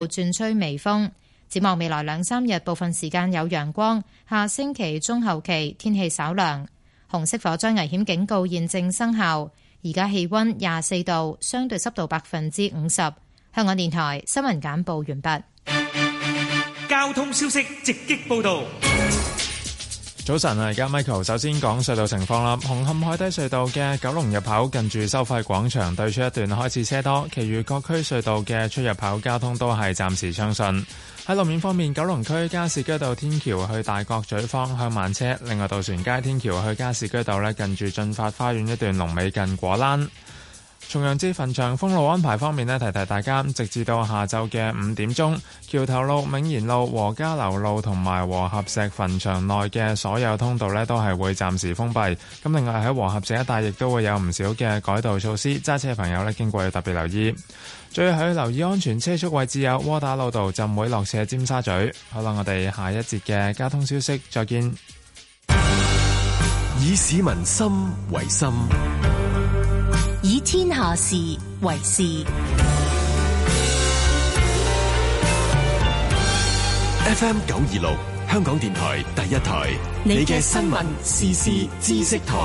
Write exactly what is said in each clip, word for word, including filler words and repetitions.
轉吹微風。展望未來兩三日，部分時間有陽光。下星期中後期天氣稍涼。紅色火災危險警告現正生效。而家氣溫廿四度，相對濕度百分之五十。香港電台新聞簡報完畢。 交通消息直擊報道。 早晨啊，而家 Michael 首先講隧道情況啦。紅磡海底隧道嘅九龍入口近住收費廣場對出一段開始車多，其餘各區隧道嘅出入口交通都係暫時暢順。喺路面方面，九龍區加士居道天橋去大角咀方向慢車，另外渡船街天橋去加士居道呢，近住進發花園一段龍尾近果欄。重陽節墳場封路安排方面呢，提提大家，直至到下晝嘅五點鐘，橋頭路、銘賢路、和家樓路同埋和合石墳場內嘅所有通道呢，都係會暫時封閉。咁另外喺和合石一帶亦都會有唔少嘅改道措施，揸車朋友呢經過要特別留意。最後要留意安全車速位置有窩打老道浸會落斜尖沙咀。好啦，我哋下一節嘅交通消息再見。 以市民心為心， 以天下事為事。 F M 九二六，香港電台第一台，你嘅新聞時事知識台。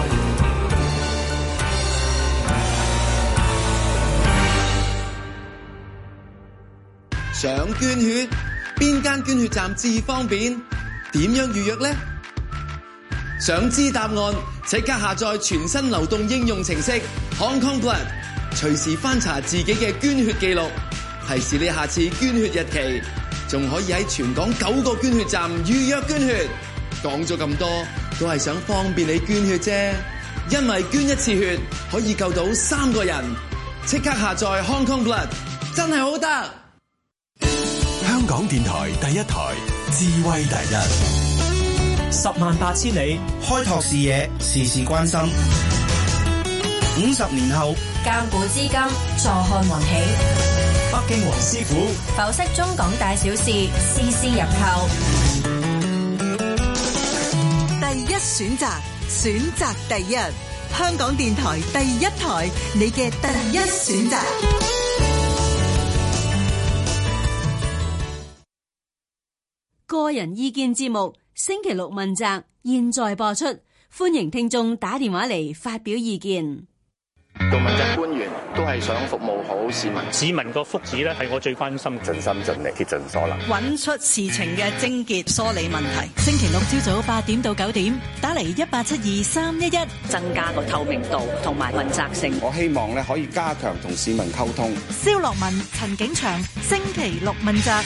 想捐血，邊間捐血站至方便？點樣預約呢？想知答案，即刻下載全新流動應用程式 Hong Kong Blood， 隨時翻查自己嘅捐血記錄，提示你下次捐血日期，仲可以喺全港九個捐血站預約捐血。講咗咁多，都係想方便你捐血啫，因為捐一次血可以救到三個人。即刻下載 Hong Kong Blood， 真係好得。 香港電台第一台，智慧第一， 十萬八千里，開拓視野，事事關心。五十年後， 鑑古知今，坐看雲起。 北京黃師傅剖析中港大小事，絲絲入扣。 第一選擇，選擇第一，香港電台第一台，你嘅第一選擇。 個人意見節目星期六問責，現在播出，歡迎聽眾打電話嚟發表意見。 做問責官員都係想服務好市民， 市民個福祉咧係我最關心， 盡心盡力竭盡所能， 揾出事情嘅症結，梳理問題。星期六朝早八點到九點，打嚟一八七二三一一， 增加個透明度同埋問責性。 我希望咧可以加強同市民溝通。 蕭樂文、陳景祥，星期六問責。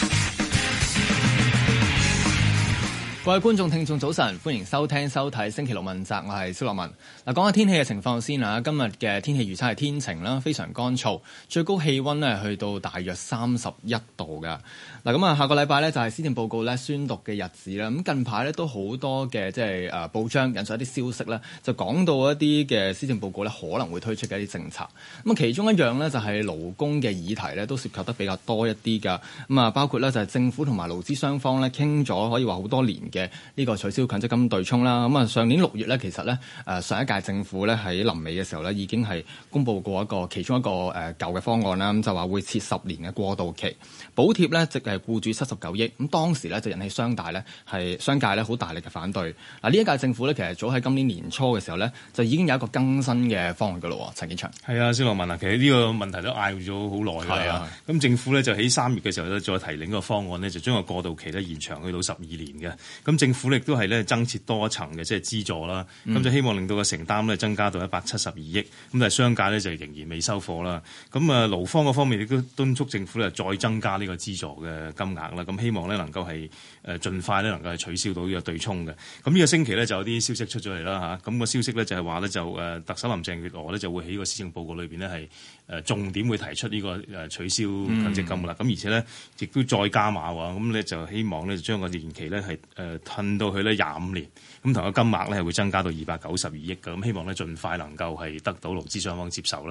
各位觀眾、聽眾，早晨，歡迎收聽、收睇星期六問責，我係蕭樂文。嗱，講下天氣嘅情況先啊。今日嘅天氣預測係天晴啦，非常乾燥，最高氣溫咧去到大約三十一度㗎。嗱，咁啊，下個禮拜咧就係施政報告咧宣讀嘅日子啦。咁近排咧都好多嘅即係誒報章引述一啲消息咧，就講到一啲嘅施政報告咧可能會推出嘅一啲政策。咁啊，其中一樣咧就係勞工嘅議題咧，都涉及得比較多一啲㗎。咁啊，包括咧就係政府同埋勞資雙方咧傾咗，可以話好多年嘅呢個取消強積金對沖啦。咁啊，上年六月咧，其實咧誒上一屆政府咧喺臨尾嘅時候咧，已經係公布過一個其中一個誒舊嘅方案啦。咁就話會設十年嘅過渡期，補貼咧即係僱主七十九億。咁當時咧就引起商大咧係商界咧好大力嘅反對。嗱，呢一屆政府咧其實早喺今年年初嘅時候咧就已經有一個更新嘅方案㗎咯。陳景祥， 係啊，蕭樂文啊，其實呢個問題都嗌咗好耐㗎啦。咁政府咧就喺三月嘅時候咧再提另一個方案咧，就將個過渡期咧延長去到十二年嘅。咁政府亦都係咧增設多一層嘅即係資助啦。咁、嗯、就希望令到個承擔咧增加到一百七十二億。咁但係商界咧就仍然未收貨啦。咁啊勞方嗰方面亦都敦促政府咧再增加呢個資助嘅金額啦。咁希望咧能夠係誒盡快咧能夠係取消到呢個對沖嘅。咁呢個星期咧就有啲消息出咗嚟啦嚇。咁、個消息咧就係話咧就誒特首林鄭月娥咧就會喺個施政報告裏邊咧係誒重點會提出呢個誒取消強積金啦。咁、嗯、而且咧亦都再加碼喎。咁咧就希望咧就將個年期咧係誒褪到去咧廿五年。咁同個金額咧係會增加到二百九十二億嘅。咁希望咧盡快能夠係得到勞資雙方接受啦。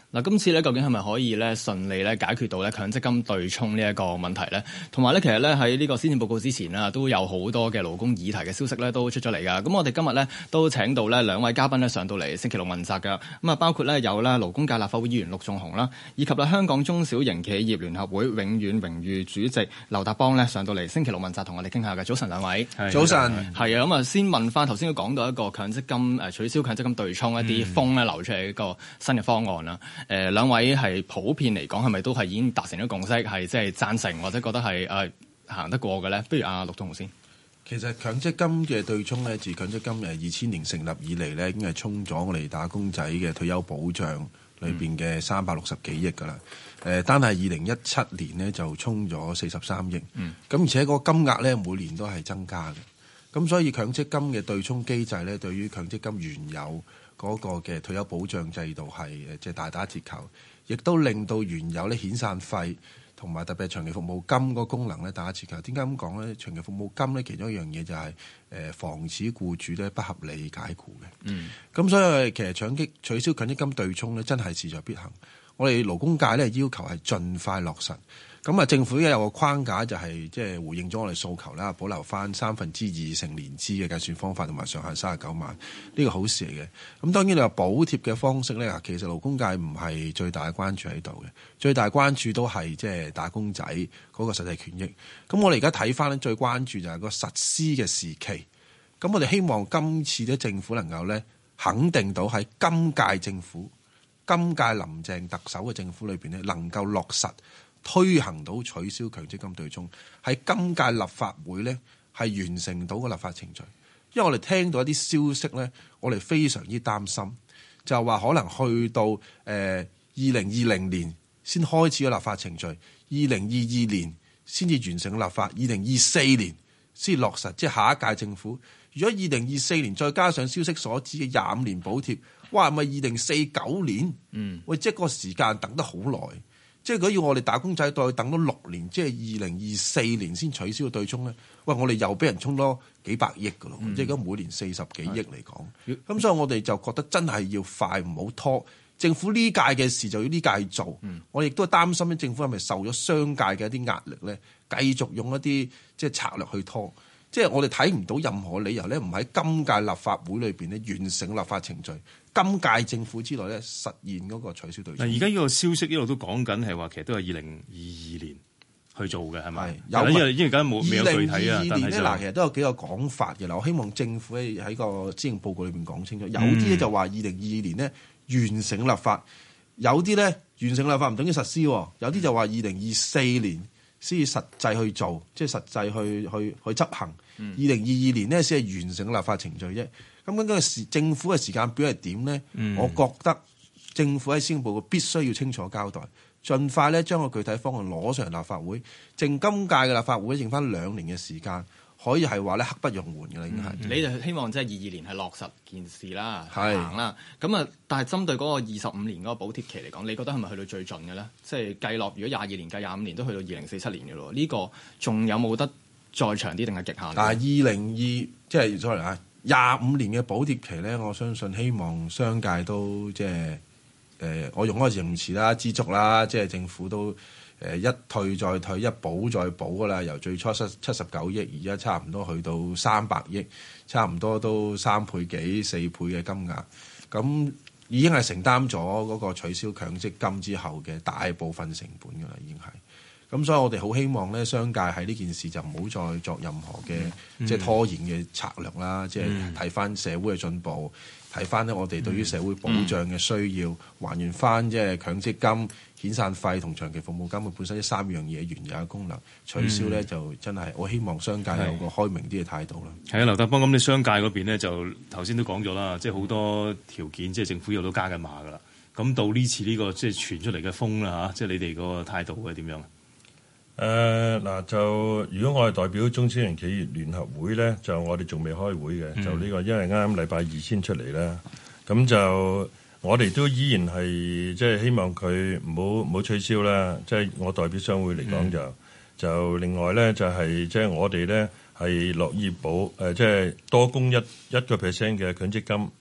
嗱，今次咧究竟係咪可以咧順利咧解決到咧強積金對沖呢一個問題咧？同埋咧，其實咧喺呢個施政報告之前啊，都有好多嘅勞工議題嘅消息咧都出咗嚟㗎。咁我哋今日咧都請到咧兩位嘉賓咧上到嚟星期六問責㗎。咁啊，包括咧有咧勞工界立法會議員陸頌雄啦，以及咧香港中小型企業聯合會永遠榮譽主席劉達邦咧上到嚟星期六問責同我哋傾下嘅。早晨兩位， 早晨， 係啊。咁啊，先問翻頭先都講到一個強積金誒取消強積金對沖一啲風咧流出嚟一個新嘅方案啦。誒、呃、兩位係普遍嚟講係咪都係已經達成咗共識，係即係贊成或者覺得係誒、呃、行得過嘅咧？不如阿陸頌雄先。 其實強積金嘅對沖咧，自強積金誒二千年成立以嚟咧，已經係沖咗我哋打工仔嘅退休保障裏邊嘅三百六十幾億㗎啦。誒、呃，單係二零一七年咧就沖咗四十三億。嗯。咁而且個金額咧每年都係增加嘅。咁所以強積金嘅對沖機制咧，對於強積金原有嗰個嘅退休保障制度係誒即係大打折扣，亦都令到原有咧遣散費同埋特別係長期服務金個功能咧打折扣。點解咁講咧？長期服務金咧其中一樣嘢就係誒防止僱主咧不合理解僱嘅。嗯。咁所以其實強積取消強積金對沖咧，真係勢在必行。我哋勞工界咧要求係盡快落實。咁啊，政府而家有個框架就係即係回應咗我哋訴求啦，保留翻三分之二成年資嘅計算方法同埋上限三十九萬，呢個好事嚟嘅。咁當然你話補貼嘅方式咧，其實勞工界唔係最大嘅關注喺度嘅，最大關注都係即係打工仔嗰個實際權益。咁我哋而家睇翻咧，最關注就係個實施嘅時期。咁我哋希望今次咧政府能夠咧肯定到喺今屆政府、今屆林鄭特首嘅政府裏邊咧，能夠落實推行到取消強積金對沖，喺今屆立法會咧係完成到個立法程序。因為我哋聽到一啲消息咧，我哋非常之擔心，就係話可能去到誒二零二零年先開始個立法程序，二零二二年先至完成立法，二零二四年先落實，即係下一屆政府。如果二零二四年再加上消息所指嘅廿五年補貼，哇，係咪二零四九年？嗯，喂，即係個時間等得好耐。即係如果要我哋打工仔再等多六年，即係二零二四年先取消個對沖咧，喂，我哋又俾人沖多幾百億㗎咯，嗯、即係而家每年四十幾億嚟講，咁、嗯、所以我哋就覺得真係要快，唔好拖。政府呢屆嘅事就要呢屆做，嗯、我亦都擔心咧，政府係咪受咗商界嘅一啲壓力咧，繼續用一啲即係策略去拖。即係我哋睇唔到任何理由咧，唔喺今屆立法會裏邊咧完成立法程序，今屆政府之內咧實現嗰個取消對沖。 嗱，而家呢個消息一路都講緊係話，其實都係二零二二年去做嘅，係咪？ 有， 因為因為而家冇未有具體啊。 二零二二年咧，嗱，其實都有幾個講法嘅。嗱，我希望政府喺喺個施政報告裏邊講清楚。有啲咧就話二零二二年咧完成立法，有啲咧完成立法唔等於實施，有啲就話二零二四年先至實際去做，即係實際去去去執行。二零二二年呢，先係完成立法程序啫。咁究竟時政府嘅時間表係點呢？嗯、我覺得政府喺施政報告必須要清楚交代，盡快咧將個具體方案攞上嚟立法會。剩今屆嘅立法會剩翻兩年嘅時間，可以係話咧刻不容緩嘅啦，已經係。 你就希望即係二二年係落實件事啦，行啦。咁啊，但係針對嗰個二十五年嗰個補貼期嚟講，你覺得係咪去到最盡嘅咧？即係計落，如果廿二年計廿五年都去到二零四七年嘅咯，呢、呢個仲有冇得再長啲定係極限？ 但係二零二即係 sorry 啊，廿五年嘅補貼期咧，我相信希望商界都即係誒，我用嗰個形容詞啦，知足啦，即係政府都誒、呃、一退再退，一補再補噶啦。由最初七七十九億，而家差唔多去到三百億，差唔多都三倍幾四倍嘅金額，咁已經係承擔咗嗰個取消強積金之後嘅大部分成本噶啦，已經係。咁所以我哋好希望咧，商界喺呢件事就唔好再作任何嘅、嗯、即係拖延嘅策略啦。嗯、即係睇翻社會嘅進步，睇翻咧我哋對於社會保障嘅需要，嗯、還原翻即係強積金、遣散費同長期服務金嘅本身呢三樣嘢原有嘅功能，取消咧、嗯、就真係我希望商界有個開明啲嘅態度啦。 係啊，劉達邦，咁你商界嗰邊咧就頭先都講咗啦，即係好多條件，即係政府又都加緊碼噶啦。咁到呢次呢、呢個即係傳出嚟嘅風啦嚇，即係你哋個態度係點樣？ 誒嗱、呃，就如果我係代表中小型企業聯合會咧，就我哋仲未開會嘅，嗯、就呢、呢個因為啱啱禮拜二先出嚟啦，咁就我哋都依然係即係希望佢唔好唔好取消啦。即、就、係、是、我代表商會嚟講就、嗯、就另外咧就係即係我哋咧係樂意保誒，即、呃、係、就是、多供一一個 percent 嘅強積金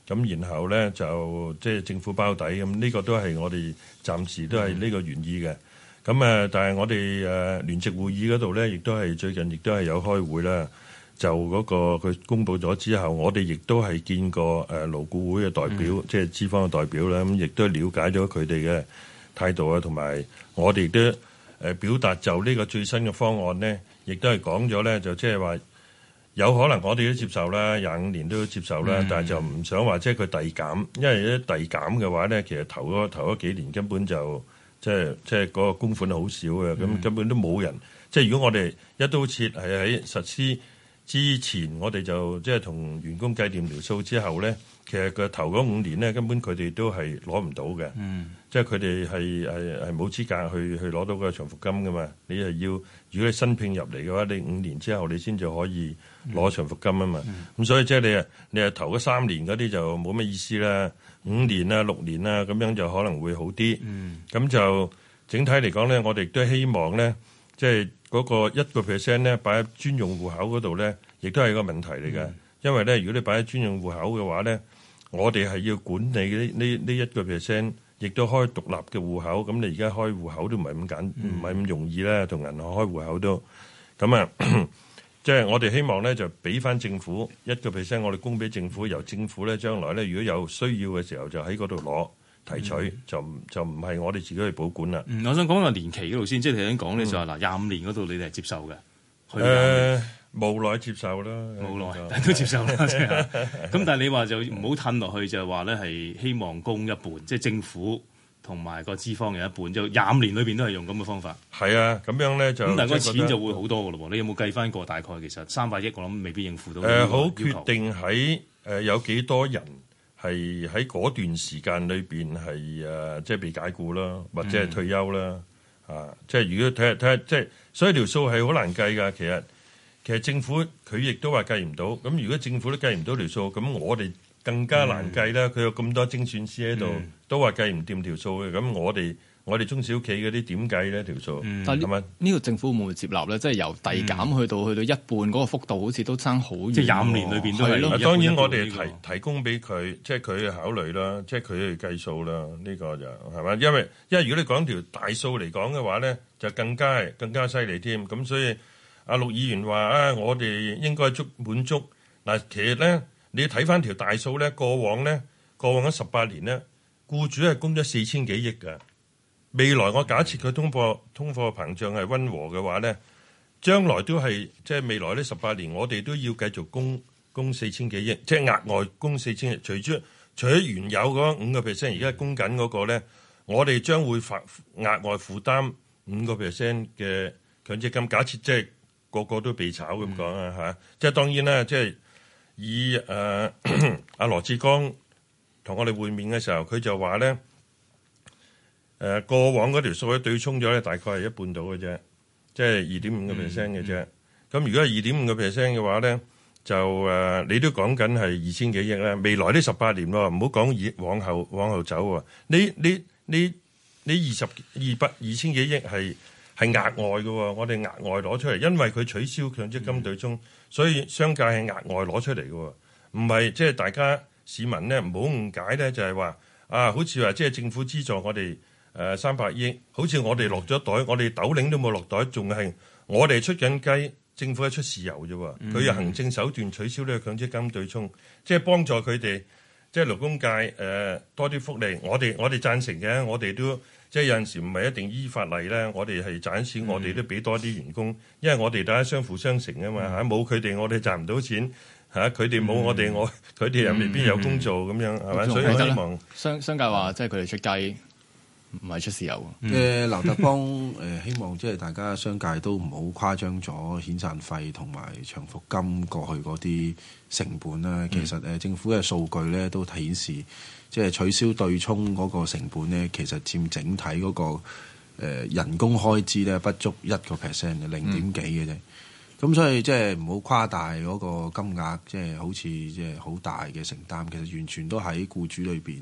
咁然後咧就即係政府包底，咁呢個都係我哋暫時都係呢個原意嘅。咁誒，但係我哋誒聯席會議嗰度咧，亦都係最近亦都係有開會啦。就嗰個佢公佈咗之後，我哋亦都係見過誒勞顧會嘅代表，嗯、即係資方嘅代表啦。咁亦都了解咗佢哋嘅態度啊，同埋我哋亦都誒表達就呢個最新嘅方案咧，亦都係講咗咧，就即係話有可能我哋都接受啦，廿五年都接受啦，嗯、但係就唔想話即係佢遞減，因為咧遞減嘅話咧，其實頭嗰頭嗰幾年根本就即係即係嗰個供款好少嘅，咁、嗯、根本都冇人。即係如果我哋一刀切係喺實施之前，我哋就即係同員工計掂條數之後咧，其實佢頭嗰五年咧，根本佢哋都係攞唔到嘅。嗯，即係佢哋係係係冇資格去去攞到個長服金噶嘛。你係要，如果你新聘入嚟嘅話，你五年之後你先至可以攞長服金啊嘛。咁、嗯、所以即係你啊，你係頭嗰三年嗰啲就冇乜意思啦。五年啊、六年啊咁樣就可能會好啲。嗯，咁就整體嚟講咧，我哋都希望咧，即係嗰個一個 percent 咧，擺喺專用戶口嗰度咧，亦都係個問題嚟嘅。嗯、因為咧，如果你擺喺專用戶口嘅話咧，我哋係要管理呢呢呢一個 percent，亦都開獨立嘅戶口。咁你而家開戶口都唔係咁簡，唔係咁容易啦，同銀行開戶口都咁啊。即係我哋希望咧，就俾翻政府一個 percent，我哋供俾政府，由政府咧將來咧，如果有需要嘅時候，就喺嗰度攞。提取、嗯、就就唔係我哋自己去保管啦、 嗯。我想講個年期嗰度先，即係頭先講咧就話嗱廿五年嗰度你哋係接受嘅。 誒、呃，無奈接受啦， 無奈但都接受啦。咁但係你話就唔好褪落去，就係話咧係希望供一半，即係政府同埋個資方嘅一半，就廿五年裏邊都係用咁嘅方法。 係啊，咁樣咧就咁， 但係個錢就會好多嘅咯喎。你有冇計翻過大概其實三百億？我諗未必應付到。誒、 呃，好決定喺誒、呃、有幾多人。係喺嗰段時間裏邊係誒，即係被解僱啦，或者係退休啦，嗯、啊！即係如果睇下睇下，即係所以條數係好難計㗎。其實其實政府佢亦都話計唔到。咁如果政府都計唔到條數，咁我哋更加難計啦。佢、嗯、有咁多精算師喺度，嗯、都話計唔掂條數嘅。咁我哋。我哋中小企嗰啲點計咧條數？ 嗯、但係呢呢個政府會唔會接納咧？即係由遞減去到、嗯、去到一半嗰個幅度，好似都爭好遠。即係廿五年裏邊都係咯。 當然我哋提提供俾佢，即係佢去考慮啦，即係佢去計數啦。呢、呢個就係嘛？因為因為如果你講條大數嚟講嘅話咧，就更加係更加犀利添。咁所以阿陸議員話啊，我哋應該足滿足嗱。其實咧，你睇翻條大數咧，過往咧，過往嗰十八年咧，僱主係供咗四千幾億㗎。未來我假設佢通貨通貨膨脹係溫和嘅話咧，將來都係即係未來呢十八年，我哋都要繼續供供四千幾億，即係額外供四千億。除咗除咗原有嗰五個 percent，而家供緊嗰個咧，我哋將會發額外負擔五個 percent 嘅強積金。假設即係個個都被炒咁講啊嚇，即係當然啦，即係以誒阿羅致光同我哋會面嘅時候，佢就話咧。誒、呃、過往嗰條數咧對沖咗咧，大概係一半到嘅啫，即係二點五個 percent 嘅啫。咁、嗯嗯、如果係二點五個 percent 嘅話咧，就誒、呃、你都講緊係二千幾億啦。未來呢十八年喎，唔好講以往後往後走喎。你你你你二十二百二千幾億係係額外嘅喎，我哋額外攞出嚟，因為佢取消強積金對沖，嗯、所以商界係額外攞出嚟嘅喎，唔係即係大家市民咧唔好誤解咧，就係、是、話啊，好似話即係政府資助我哋。誒三百億，好似我哋落咗袋，我哋斗零都冇落袋，仲係我哋出緊雞，政府係出豉油啫喎。佢用、嗯、行政手段取消呢個強積金對沖，即係幫助佢哋，即係勞工界誒、呃、多啲福利。我哋我哋贊成嘅，我哋都即係有陣時唔係一定依法例咧，我哋係賺錢，嗯、我哋都俾多啲員工，因為我哋大家相輔相成啊嘛嚇，冇佢哋我哋賺唔到錢嚇，佢哋冇我哋我，佢哋又未必有工做咁、嗯、樣係咪？所以我希望商商界話即係佢哋出雞。唔係出豉油嘅，劉達邦誒希望即係大家商界都唔好誇張咗遣散費同埋長服金過去嗰啲成本啦。嗯、其實誒政府嘅數據咧都顯示，即係取消對沖嗰個成本咧，其實佔整體嗰個誒人工開支咧不足一個 percent 嘅零點幾嘅啫。咁、嗯、所以即係唔好誇大嗰個金額，即係好似即係好大嘅承擔。其實完全都喺僱主裏邊。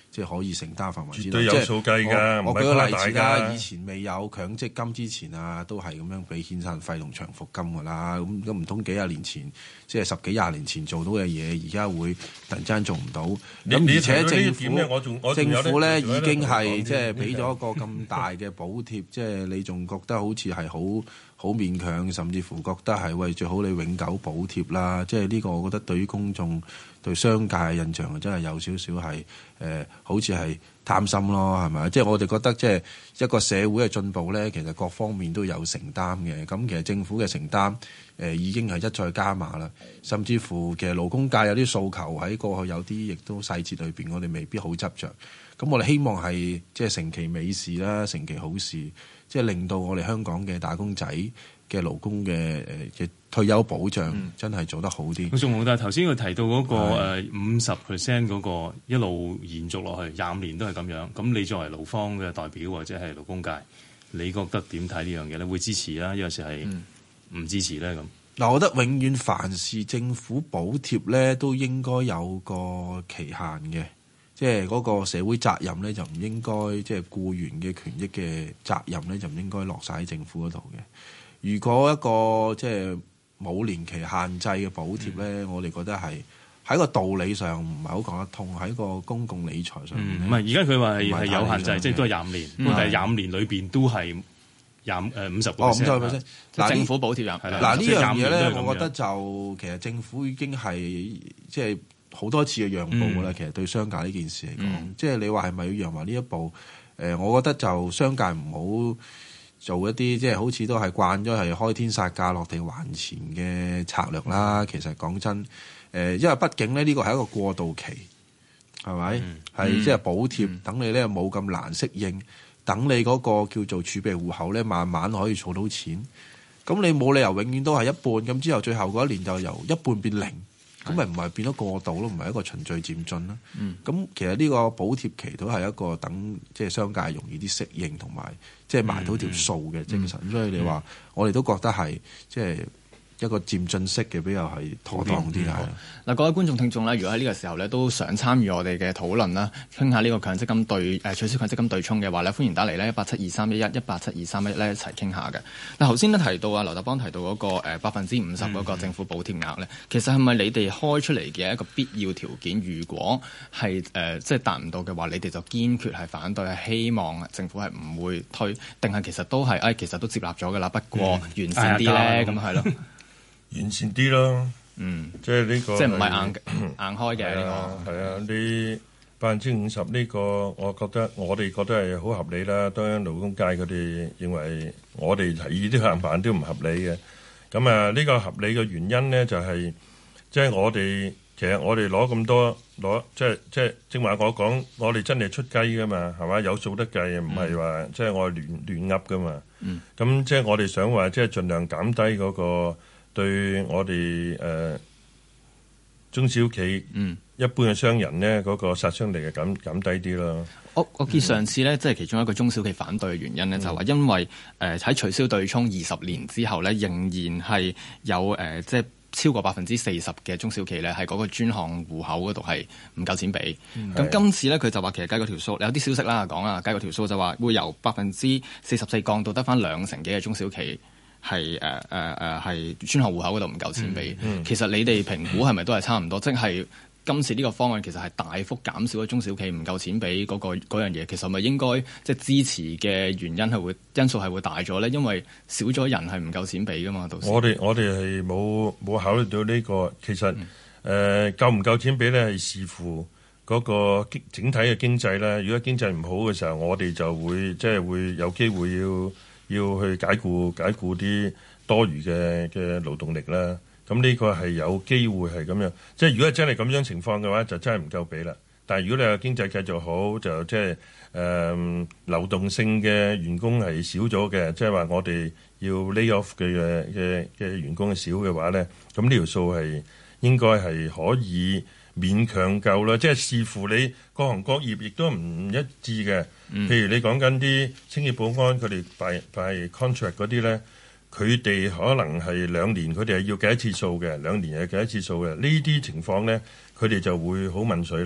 即係可以承擔範圍之內。 絕對有數計㗎， 我舉個例子啦， 家以前未有強積金之前啊，都係咁樣俾遣散費同長服金㗎啦。咁咁唔通幾廿年前，即係十幾廿年前做到嘅嘢，而家會突然之間做唔到？咁而且政府政府咧已經係即係俾咗一個咁大嘅補貼，即係你仲覺得好似係好好勉強，甚至乎覺得係喂最好你永久補貼啦。即係呢個，我覺得對於公眾對商界嘅印象真係有少少係誒，好似係貪心咯，係咪？即係我哋覺得即係一個社會嘅進步咧，其實各方面都有承擔嘅。咁其實政府嘅承擔誒、呃、已經係一再加碼啦，甚至乎其實勞工界有啲訴求喺過去有啲亦都細節裏邊，我哋未必好執着。咁我哋希望係即係成其美事啦，成其好事，即係令到我哋香港嘅打工仔嘅勞工嘅誒嘅退休保障真係做得好啲。 仲冇，但係頭先佢提到嗰個誒五十 percent 嗰個一路延續落去廿五年都係咁樣。咁你作為勞方嘅代表或者係勞工界，你覺得點睇呢樣嘢咧？會支持啊？有時係唔支持咧咁？嗱、 嗯，我覺得永遠凡是政府補貼咧，都應該有個期限嘅。即係嗰個社會責任咧，就唔應該即係僱員嘅權益嘅責任咧，就唔應該落晒喺政府嗰度嘅。如果一個即係冇年期限制嘅補貼咧，嗯、我哋覺得係喺個道理上唔係好講得通，喺個公共理財上面。 唔係而家佢話係係有限制，即係都係廿五年。但係廿五年裏邊都係廿誒五十個 percent。哦，五十 percent。嗱， 政府補貼廿係啦。 嗱呢樣嘢咧，我覺得就其實政府已經係即係。好多次嘅讓步㗎啦，嗯、其實對商界呢件事嚟講，嗯、即係你話係咪要讓埋呢一步？誒、呃，我覺得就商界唔好做一啲即係好似都係慣咗係開天殺價落地還錢嘅策略啦。其實講真，誒、呃，因為畢竟咧呢個係一個過渡期，係咪？係、嗯、即係補貼，嗯、等你咧冇咁難適應，等你嗰個叫做儲備戶口咧慢慢可以儲到錢。咁你冇理由永遠都係一半，咁之後最後嗰一年就由一半變零。咁咪唔係變咗過渡咯，唔係一個循序漸進啦。咁、嗯、其實呢個補貼期都係一個等即係商界容易啲適應同埋即係埋到條數嘅精神。嗯嗯、所以你話、嗯、我哋都覺得係即係一個漸進式嘅比較係妥當啲啦。 嗱，各位觀眾聽眾咧，如果喺呢個時候咧都想參與我哋嘅討論啦，傾下呢個強積金對誒、呃、取消強積金對沖嘅話咧，歡迎打嚟咧一八七二三一一一八七二三一一咧一齊傾下嘅。嗱，頭先咧提到啊，劉達邦提到嗰、嗰個百分之五十嗰個政府補貼額咧，嗯、其實係咪你哋開出嚟嘅一個必要條件？如果係誒、呃、即係達唔到嘅話，你哋就堅決係反對，係希望政府係唔會推，定係其實都係誒、哎、其實都接納咗㗎啦，不過完善啲咧，咁係咯。 完善啲咯， 嗯， 即係呢個， 即係唔係硬硬開嘅呢個， 係啊，呢百分之五十呢個，我覺得我哋覺得係好合理啦。當然勞工界佢哋認為我哋提議啲行法都唔合理嘅。咁啊，呢個合理嘅原因咧就係，即係我哋其實我哋攞咁多攞，即係即係正話我講，我哋真係出雞噶嘛，係嘛，有數得計，唔係話即係我亂亂噏噶嘛。嗯，咁即係我哋想話，即係盡量減低嗰個。對我哋誒、呃、中小企、嗯、一般嘅商人咧，嗰、那個殺傷力係減減低啲咯。 我我見上次咧，即係其中一個中小企反對嘅原因咧，嗯、就係話因為誒喺、呃、取消對沖二十年之後咧，仍然係有誒、呃、即係超過百分之四十嘅中小企咧，喺嗰個專項戶口嗰度係唔夠錢俾。咁、嗯、今次咧，佢就話其實計過條數，有啲消息啦講啊，計過條數就話會由百分之四十四降到得返兩成幾嘅中小企。係誒誒誒係專項戶口嗰度唔夠錢俾，嗯嗯、其實你哋評估係咪都係差唔多？即係今次呢個方案其實係大幅減少咗中小企唔夠錢俾嗰、嗰個嗰樣嘢，其實係咪應該即係支持嘅原因係會因素係會大咗咧？因為少咗人係唔夠錢俾噶嘛，到時我哋我哋係冇冇考慮到呢、呢個，其實誒、嗯呃、夠唔夠錢俾咧係視乎嗰個整體嘅經濟啦。如果經濟唔好嘅時候，我哋就會即係會有機會要。要去解僱解僱啲多餘嘅嘅勞動力啦，咁呢個係有機會係咁樣。即係如果真係咁樣情況嘅話，就真係唔夠俾啦。但係如果你話經濟繼續好，就即係誒流動性嘅員工係少咗嘅，即係話我哋要 lay off 嘅嘅嘅員工少嘅話咧，咁呢條數係應該係可以勉強夠啦。即係視乎你各行各業亦都唔一致嘅。譬如你講緊啲清潔保安，佢哋拜拜 contract 嗰啲咧，佢哋可能係兩年，佢哋係要計一次數嘅，兩年係計一次數嘅。呢啲情況咧，佢哋就會好問水啦。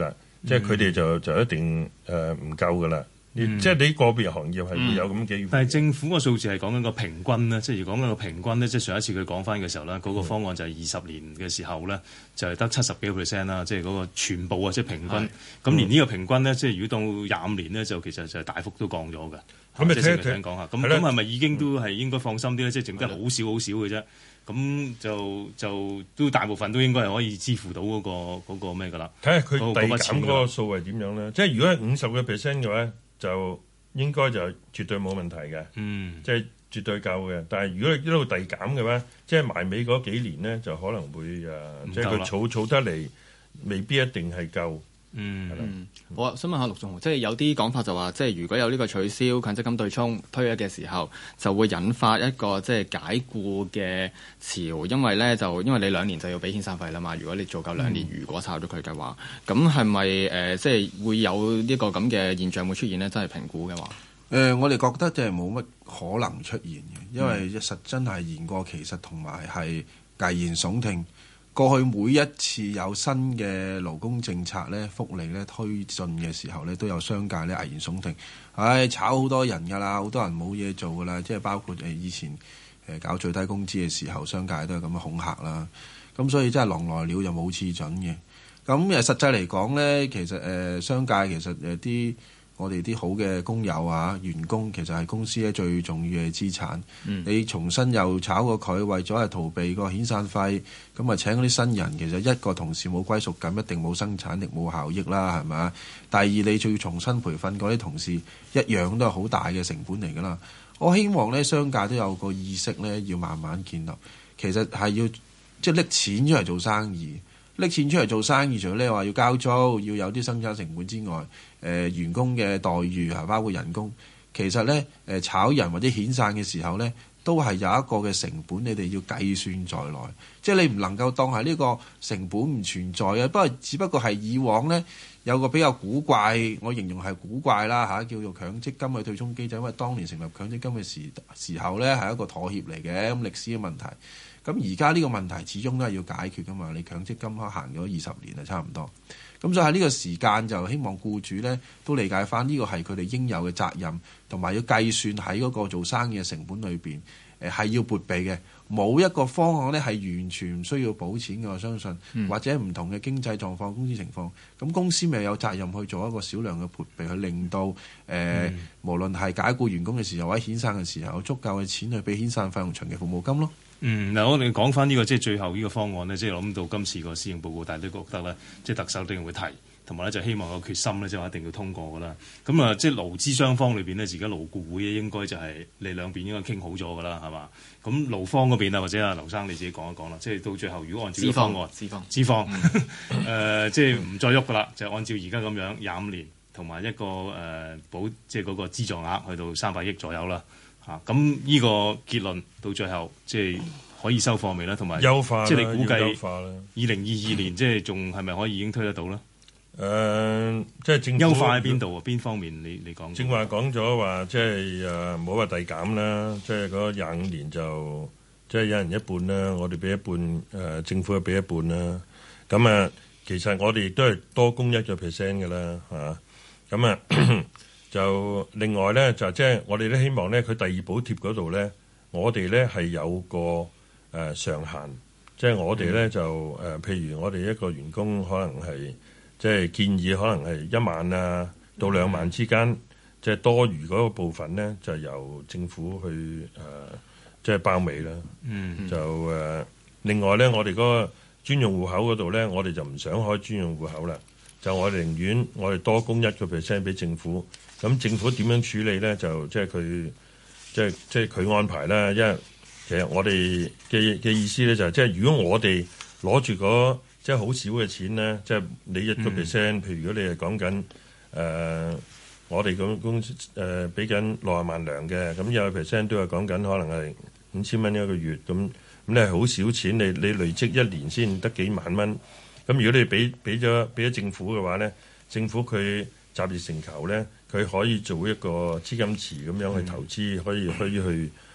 即係佢哋就就一定誒唔夠噶啦。嗯、即係你個別行業係會有咁嘅、嗯， 但係政府個數字係講緊個平均咧，即係如講緊個平均咧，即係上一次佢講翻嘅時候咧，嗰、那個方案就係二十年嘅時候咧，就係得七十幾個 percent 啦，即係嗰個全部啊，即係平均。咁連呢個平均咧，即係如果到廿五年咧，就其實就係大幅都降咗嘅。咁咪聽聽講下，咁咁係咪已經都係應該放心啲咧？即係剩得好少好少嘅啫。咁就就都大部分都應該係可以支付到嗰、那個嗰、那個咩㗎啦。睇下佢遞減嗰個數係點樣咧？即係如果係五十個 percent 嘅話，就應該就絕對冇問題嘅，嗯，即係絕對夠嘅。但係如果一路遞減嘅話，即係埋尾嗰幾年咧，就可能會誒，即係佢儲儲得嚟，未必一定係夠。嗯，係啦。 我、嗯、想問下陸頌雄，即係有啲講法就話，即係如果有呢個取消強積金對沖推嘅時候，就會引發一個即係解僱嘅潮，因為咧就因為你兩年就要俾遣散費啦嘛。如果你做夠兩年，嗯、如果炒咗佢嘅話，咁係咪誒即係會有呢個咁嘅現象會出現呢？真係評估嘅話，誒、 呃，我哋覺得即係冇乜可能出現嘅，因為一實真係言過其實，同埋係危言聳聽。過去每一次有新嘅勞工政策咧、福利咧推進嘅時候咧，都有商界咧危言聳聽，唉、哎，炒好多人㗎啦，好多人冇嘢做㗎啦，即係包括誒以前誒搞最低工資嘅時候，商界都係咁樣恐嚇啦。咁所以真係狼來了又冇次準嘅。咁誒實際嚟講咧，其實誒、呃、商界其實誒啲。我哋啲好嘅工友啊、員工其實係公司咧最重要嘅資產。嗯、你重新又炒過佢，為咗係逃避個遣散費，咁啊請嗰啲新人，其實一個同事冇歸屬感，一定冇生產力、冇效益啦，係咪？第二，你仲要重新培訓嗰啲同事，一樣都係好大嘅成本嚟㗎啦。我希望咧，商界都有個意識咧，要慢慢建立。其實係要即係拎錢出嚟做生意。拎錢出嚟做生意，除咗你話要交租，要有啲生產成本之外，誒、呃、員工嘅待遇啊，包括人工，其實咧誒、呃、炒人或者遣散嘅時候咧，都係有一個嘅成本，你哋要計算在內。即係你唔能夠當係呢個成本唔存在嘅，不過只不過係以往咧有個比較古怪，我形容係古怪啦嚇，叫做強積金嘅對沖機制，因為當年成立強積金嘅時時候咧係一個妥協嚟嘅，咁歷史嘅問題。咁而家呢個問題始終都係要解決噶嘛，你強積金行咗二十年啊，差唔多。咁所以喺呢個時間就希望僱主咧都理解翻呢個係佢哋應有嘅責任，同埋要計算喺嗰個做生意嘅成本裏邊，誒係要撥備嘅。冇一個方案咧係完全唔需要補錢嘅，我相信，嗯、或者唔同嘅經濟狀況、公司情況，咁公司咪有責任去做一個少量嘅撥備，去令到誒、呃嗯、無論係解僱員工嘅時候或者遣散嘅時候，有足夠嘅錢去俾遣散費用長期服務金咯。嗯， 嗱，我哋講翻呢個即係最後呢個方案呢，即係諗到今次個施政報告，大家都覺得咧，即係特首一定會提，同埋咧就希望個決心咧，即係話一定要通過噶啦。咁啊，即係勞資雙方裏邊呢，而家勞顧會應該就係你兩邊應該傾好咗噶啦，係嘛？咁勞方嗰邊啊，或者啊劉生你自己講一講啦。即係到最後，如果按照呢個方案，資方，資方，誒，即係唔再喐噶啦，就按照而家咁樣廿五年，同埋一個誒、呃、保，即係嗰個資助額去到三百億左右啦。嚇，咁呢個結論到最後即係可以收貨未咧？同埋優化，即係你估計二零二二年即係仲係咪可以已經推得到咧？誒、呃，即係政府優化喺邊度啊？邊方面你你講？正話講咗話，即係誒唔好話遞減啦，即係嗰廿五年就即係一人一半啦，我哋俾一半，誒、呃、政府又俾一半啦。咁啊，其實我哋亦都係多供一個 percent 嘅啦，嚇。咁啊。就另外咧，就即係我哋都希望咧，佢第二補貼嗰度咧，我哋咧係有個誒、呃、上限，即係我哋咧就誒、呃，譬如我哋一個員工可能係即係建議可能係一萬啊到兩萬之間，嗯、即係多餘嗰個部分咧，就由政府去誒、呃、即係包尾啦。嗯，就誒、呃、另外咧，我哋嗰個專用戶口嗰度咧，我哋就唔想開專用戶口啦，就我哋寧願我哋多供一個 percent 俾政府。咁政府點樣處理咧？就即係佢，即係即係佢安排啦。因為其實我哋嘅嘅意思咧就係、是，即係如果我哋攞住嗰即係好少嘅錢咧，即係你一個 percent，譬如如果你係講緊誒，我哋咁公司誒俾緊六十萬糧嘅，咁有個 percent 都係講緊可能係五千蚊一個月，咁咁你係好少錢，你你累積一年先得幾萬蚊。咁如果你俾俾咗俾咗政府嘅話咧，政府佢集腋成裘咧。佢可以做一個資金池咁樣去投資，嗯、可以可以去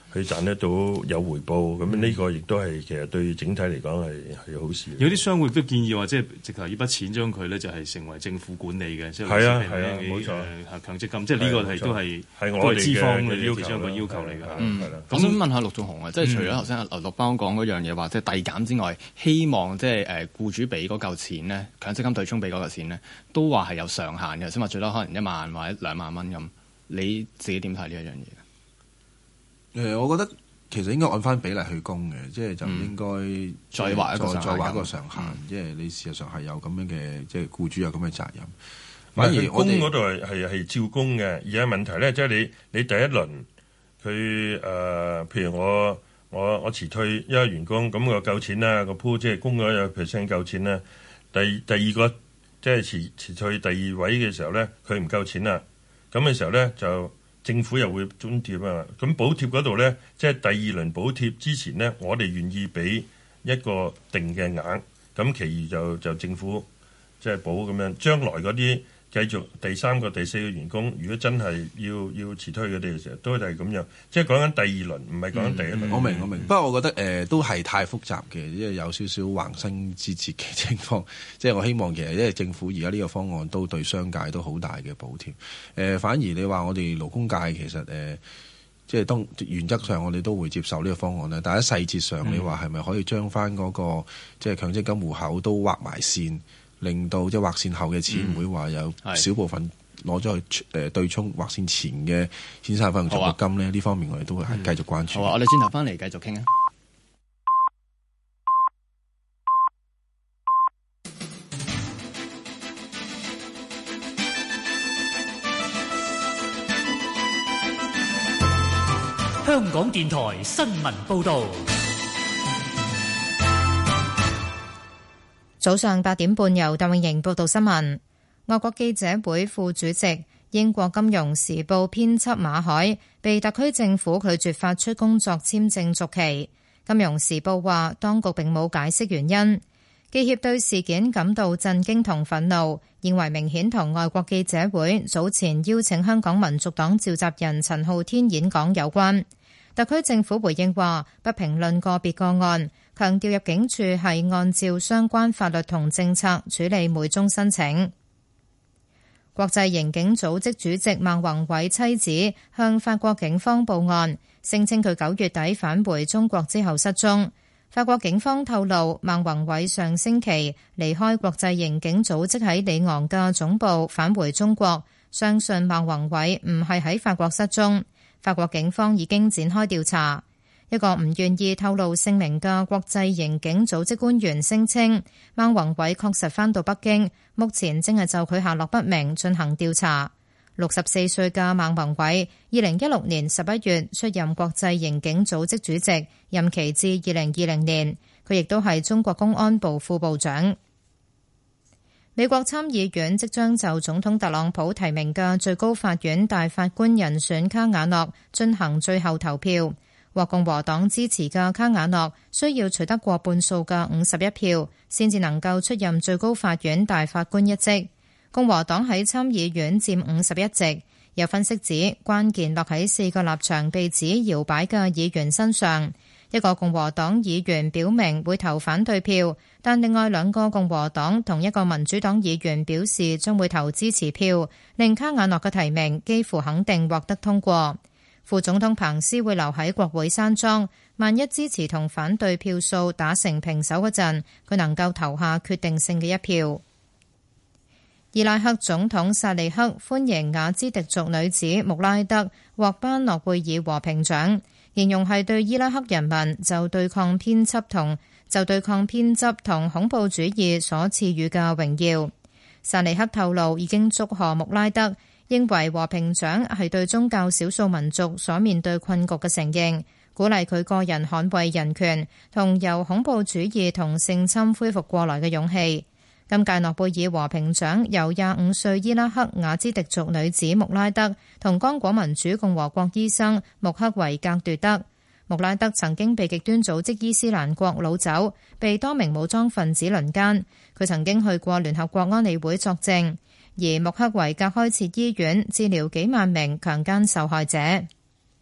佢賺得到有回報，咁呢個亦都係其實對整體嚟講係係好事。 有啲商會都建議話，即係直頭呢筆錢將佢咧就係成為政府管理嘅，即係係啊係啊冇錯， 誒強積金，即係呢個係都係係我哋資方嘅要求其中一個要求嚟㗎。 嗯，我想問下陸頌雄啊，即係除咗頭先阿劉陸邦講嗰樣嘢話，即係遞減之外，希望即係誒僱主俾嗰嚿錢咧，強積金對沖俾嗰嚿錢咧，都話係有上限嘅，先話最多可能一萬或者兩萬蚊咁。你自己點睇呢一樣嘢？ 誒、呃，我覺得其實應該按翻比例去供嘅，即係就唔應該、嗯、 再畫一個上限， 再畫一個上限，即係、嗯、你事實上係有咁樣嘅，即係僱主有咁嘅責任。反而我哋供嗰度係係係照供嘅，而家問題咧，即係你你第一輪佢誒、呃，譬如我我我辭退一個員工，咁我夠錢啦，個鋪即係供咗有 percent 夠錢啦。第第二個即係辭辭退第二位嘅時候咧，佢唔夠錢啦，咁嘅時候咧就。政府又會津貼啊，咁補貼嗰度咧，即係第二輪補貼之前咧，我哋願意俾一個定嘅額，咁其餘就就政府即係補咁樣。將來嗰啲繼續第三個、第四個員工，如果真係要要辭退佢哋嘅時候，都係咁樣。即係講緊第二輪，唔係講緊第一輪。 嗯、我明我明，不過我覺得誒、呃、都係太複雜嘅，因為有少少橫生枝節嘅情況。即係我希望其實因為政府而家呢個方案都對商界都好大嘅補貼。誒、呃，反而你話我哋勞工界其實誒、呃，即係當原則上我哋都會接受呢個方案咧。但喺細節上，嗯、你話係咪可以將翻嗰個即係強積金戶口都劃埋線？令到即係劃線後嘅錢唔會話有少部分攞咗去誒對沖劃線前嘅先生份獎學金咧，呢、啊、方面我哋都會係繼續關注。 好啊，我哋轉頭翻嚟繼續傾啊！ 香港電台新聞報導。 早上八點半，由鄧永盈報道新聞。外國記者會副主席、英國金融時報編輯馬海被特區政府拒絕發出工作簽證續期。金融時報話，當局並冇解釋原因。記協對事件感到震驚同憤怒，認為明顯同外國記者會早前邀請香港民族黨召集人陳浩天演講有關。特區政府回應話，不評論個別個案，強調入境處係按照相關法律同政策處理每宗申請。國際刑警組織主席孟宏偉妻子向法國警方報案，聲稱佢九月底返回中國之後失蹤。法國警方透露，孟宏偉上星期離開國際刑警組織喺里昂嘅總部返回中國，相信孟宏偉唔係喺法國失蹤。法國警方已經展開調查。一個唔願意透露姓名嘅國際刑警組織官員聲稱，孟宏偉確實返到北京，目前正係就佢下落不明進行調查。六十四歲嘅孟宏偉，二零一六年十一月出任國際刑警組織主席，任期至二零二零年。佢亦都係中國公安部副部長。美國參議院即將就總統特朗普提名嘅最高法院大法官人選卡瓦諾進行最後投票。獲共和黨支持嘅卡瓦諾需要取得過半數嘅五十一票，先至能夠出任最高法院大法官一職。共和黨喺參議院佔五十一席。有分析指，關鍵落喺四個立場被指搖擺嘅議員身上。一個共和黨議員表明會投反對票，但另外兩個共和黨同一個民主黨議員表示將會投支持票，令卡瓦諾嘅提名幾乎肯定獲得通過。副總統彭斯會留喺國會山莊，萬一支持同反對票數打成平手嗰陣，佢能夠投下決定性嘅一票。伊拉克總統薩利克歡迎雅茲迪族女子穆拉德獲頒諾貝爾和平獎，形容係對伊拉克人民就對抗偏執同就對抗偏執同恐怖主義所賜予嘅榮耀。薩利克透露已經祝賀穆拉德，認為和平獎係對宗教少數民族所面對困局嘅承認，鼓勵佢個人捍衛人權同由恐怖主義同性侵恢復過來嘅勇氣。今屆諾貝爾和平獎由廿五歲伊拉克雅茲迪族女子穆拉德同剛果民主共和國醫生穆克維格奪得。穆拉德曾經被極端組織伊斯蘭國擄走，被多名武裝分子輪姦。佢曾經去過聯合國安理會作證，而穆克維格開設醫院治療幾萬名強姦受害者。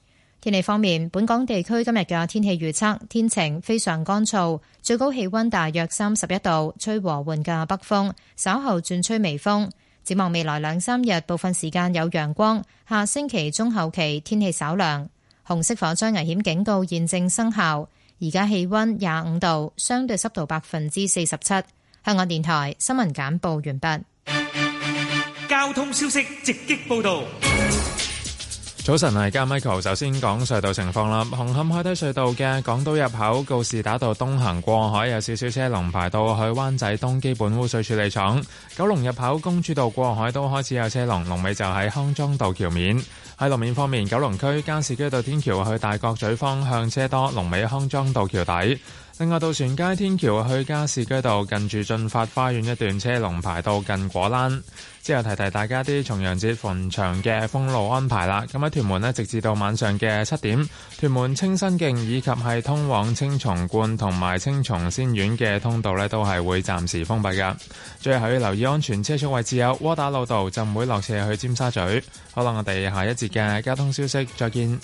天氣方面，本港地區今日嘅天氣預測天晴，非常乾燥，最高氣溫大約三十一度，吹和緩嘅北風，稍後轉吹微風。展望未來兩三日，部分時間有陽光，下星期中後期天氣稍涼。紅色火災危險警告現正生效。而家氣溫廿五度，相對濕度百分之四十七。香港電台新聞簡報完畢。 交通消息直擊報道。 早晨，係加 Michael。首先講隧道情況啦。紅磡海底隧道嘅港島入口告士打道東行過海有少少車龍排到去灣仔東基本污水處理廠。九龍入口公主道過海都開始有車龍，龍尾就喺康莊道橋面。喺路面方面，九龍區加士居道天橋去大角咀方向車多，龍尾康莊道橋底。另外，渡船街天橋去加士居道近住駿發花園一段車龍排到近果欄。之後提提大家啲重陽節墳場嘅封路安排啦。咁喺屯門呢，直至到晚上嘅七點，屯門清新徑以及係通往青松觀同埋青松仙苑嘅通道呢，都係會暫時封閉㗎。最後要留意安全車速位置有窩打老道浸會落斜去尖沙咀。好啦，我哋下一節嘅交通消息再見。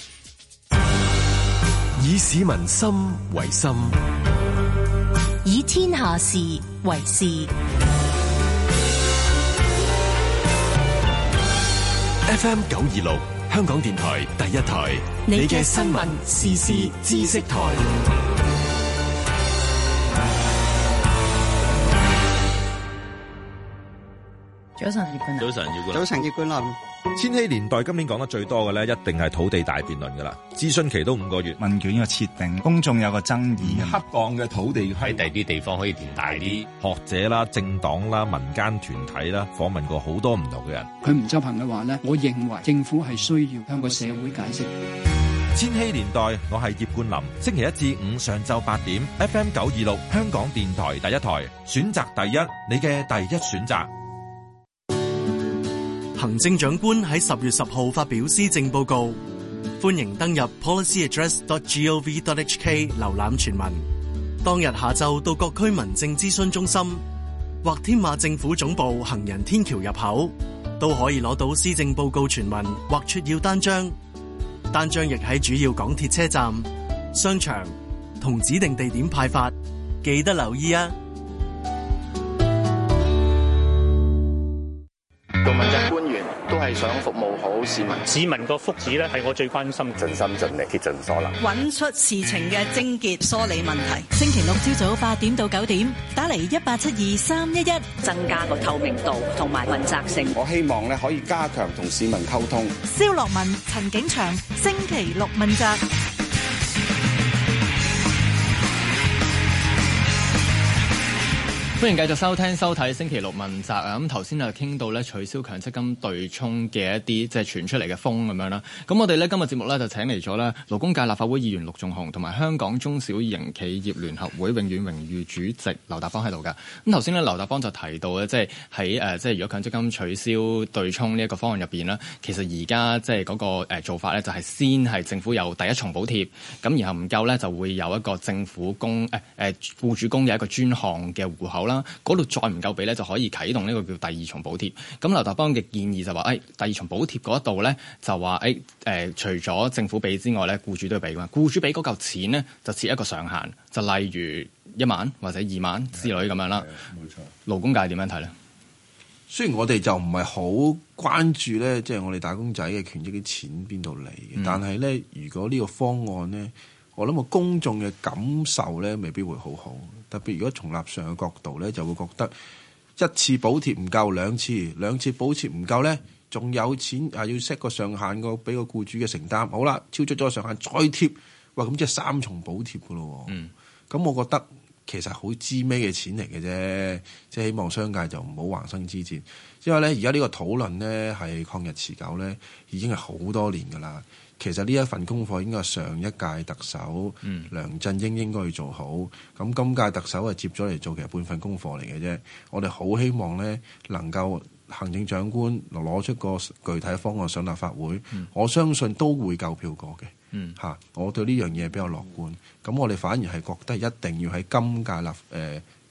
以市民心為心， 以天下事為事。 F M 九二六，香港電台第一台，你嘅新聞時事知識台。 早晨，葉冠霖。 早晨，葉冠霖。 早晨，葉冠霖。 千禧年代今年講得最多嘅咧，一定係土地大辯論噶啦。諮詢期都五個月， 問卷嘅設定，公眾有個爭議， 恰當嘅土地喺第啲地方可以填大啲。學者啦、政黨啦、民間團體啦，訪問過好多唔同嘅人。 佢唔執行嘅話呢，我認為政府係需要向個社會解釋。 千禧年代，我係葉冠霖。星期一至五上晝八點 ，F M 九二六，香港電台第一台，選擇第一，你嘅第一選擇。 行政長官喺十月十號發表施政報告，歡迎登入 policy address dot gov dot h k 瀏覽全文。當日下晝到各區民政諮詢中心或天馬政府總部行人天橋入口，都可以攞到施政報告全文或撮要單張。單張亦喺主要港鐵車站、商場同指定地點派發，記得留意啊！ 做問責官員都係想服務好市民， 市民個福祉咧係我最關心， 盡心盡力竭盡所能， 揾出事情嘅症結，梳理問題。 星期六朝早八點到九點，打嚟一八七二三一一， 增加個透明度同埋問責性。 我希望咧可以加強同市民溝通。 蕭樂文、陳景祥，星期六問責。 歡迎繼續收聽收睇星期六問責啊！咁頭先就傾到咧取消強積金對沖嘅一啲即係傳出嚟嘅風咁樣啦。咁我哋咧今日節目咧就請嚟咗咧勞工界立法會議員陸頌雄同埋香港中小型企業聯合會永遠榮譽主席劉達邦喺度㗎。咁頭先咧劉達邦就提到咧，即係喺誒即係如果強積金取消對沖呢一個方案入邊咧，其實而家即係嗰個誒做法咧就係先係政府有第一重補貼，咁然後唔夠咧就會有一個政府供誒誒僱主供有一個專項嘅戶口啦。嗰度再唔夠俾咧，就可以啟動呢個叫第二重補貼。咁劉達邦嘅建議就話，誒、哎、第二重補貼嗰度咧，就話誒誒，除咗政府俾之外咧，僱主都要俾㗎嘛。僱主俾嗰嚿錢咧，就設一個上限，就例如一萬或者二萬之類咁樣啦。冇錯。勞工界點樣睇咧？ 雖然我哋就唔係好關注咧，即、就、係、是、我哋打工仔嘅權益啲錢邊度嚟嘅，嗯、但係咧，如果呢個方案咧，我諗個公眾嘅感受咧，未必會好好。特別如果從立場嘅角度咧，就會覺得一次補貼唔夠，兩次兩次補貼唔夠咧，仲有錢啊要 set 個上限個俾個僱主嘅承擔。好啦，超出咗上限再貼，哇咁即係三重補貼噶咯。嗯，咁我覺得其實好知咩嘅錢嚟嘅啫，即係希望商界就唔好橫生枝節。因為咧而家呢個討論咧係曠日持久咧，已經係好多年噶啦。其實呢一份功課應該係上一屆特首、嗯、梁振英應該要做好，咁今屆特首係接咗嚟做，其實半份功課嚟嘅啫。我哋好希望咧能夠行政長官攞出個具體方案上立法會，嗯、我相信都會夠票過嘅。嗯，我對呢樣嘢比較樂觀。咁我哋反而係覺得一定要喺今屆立誒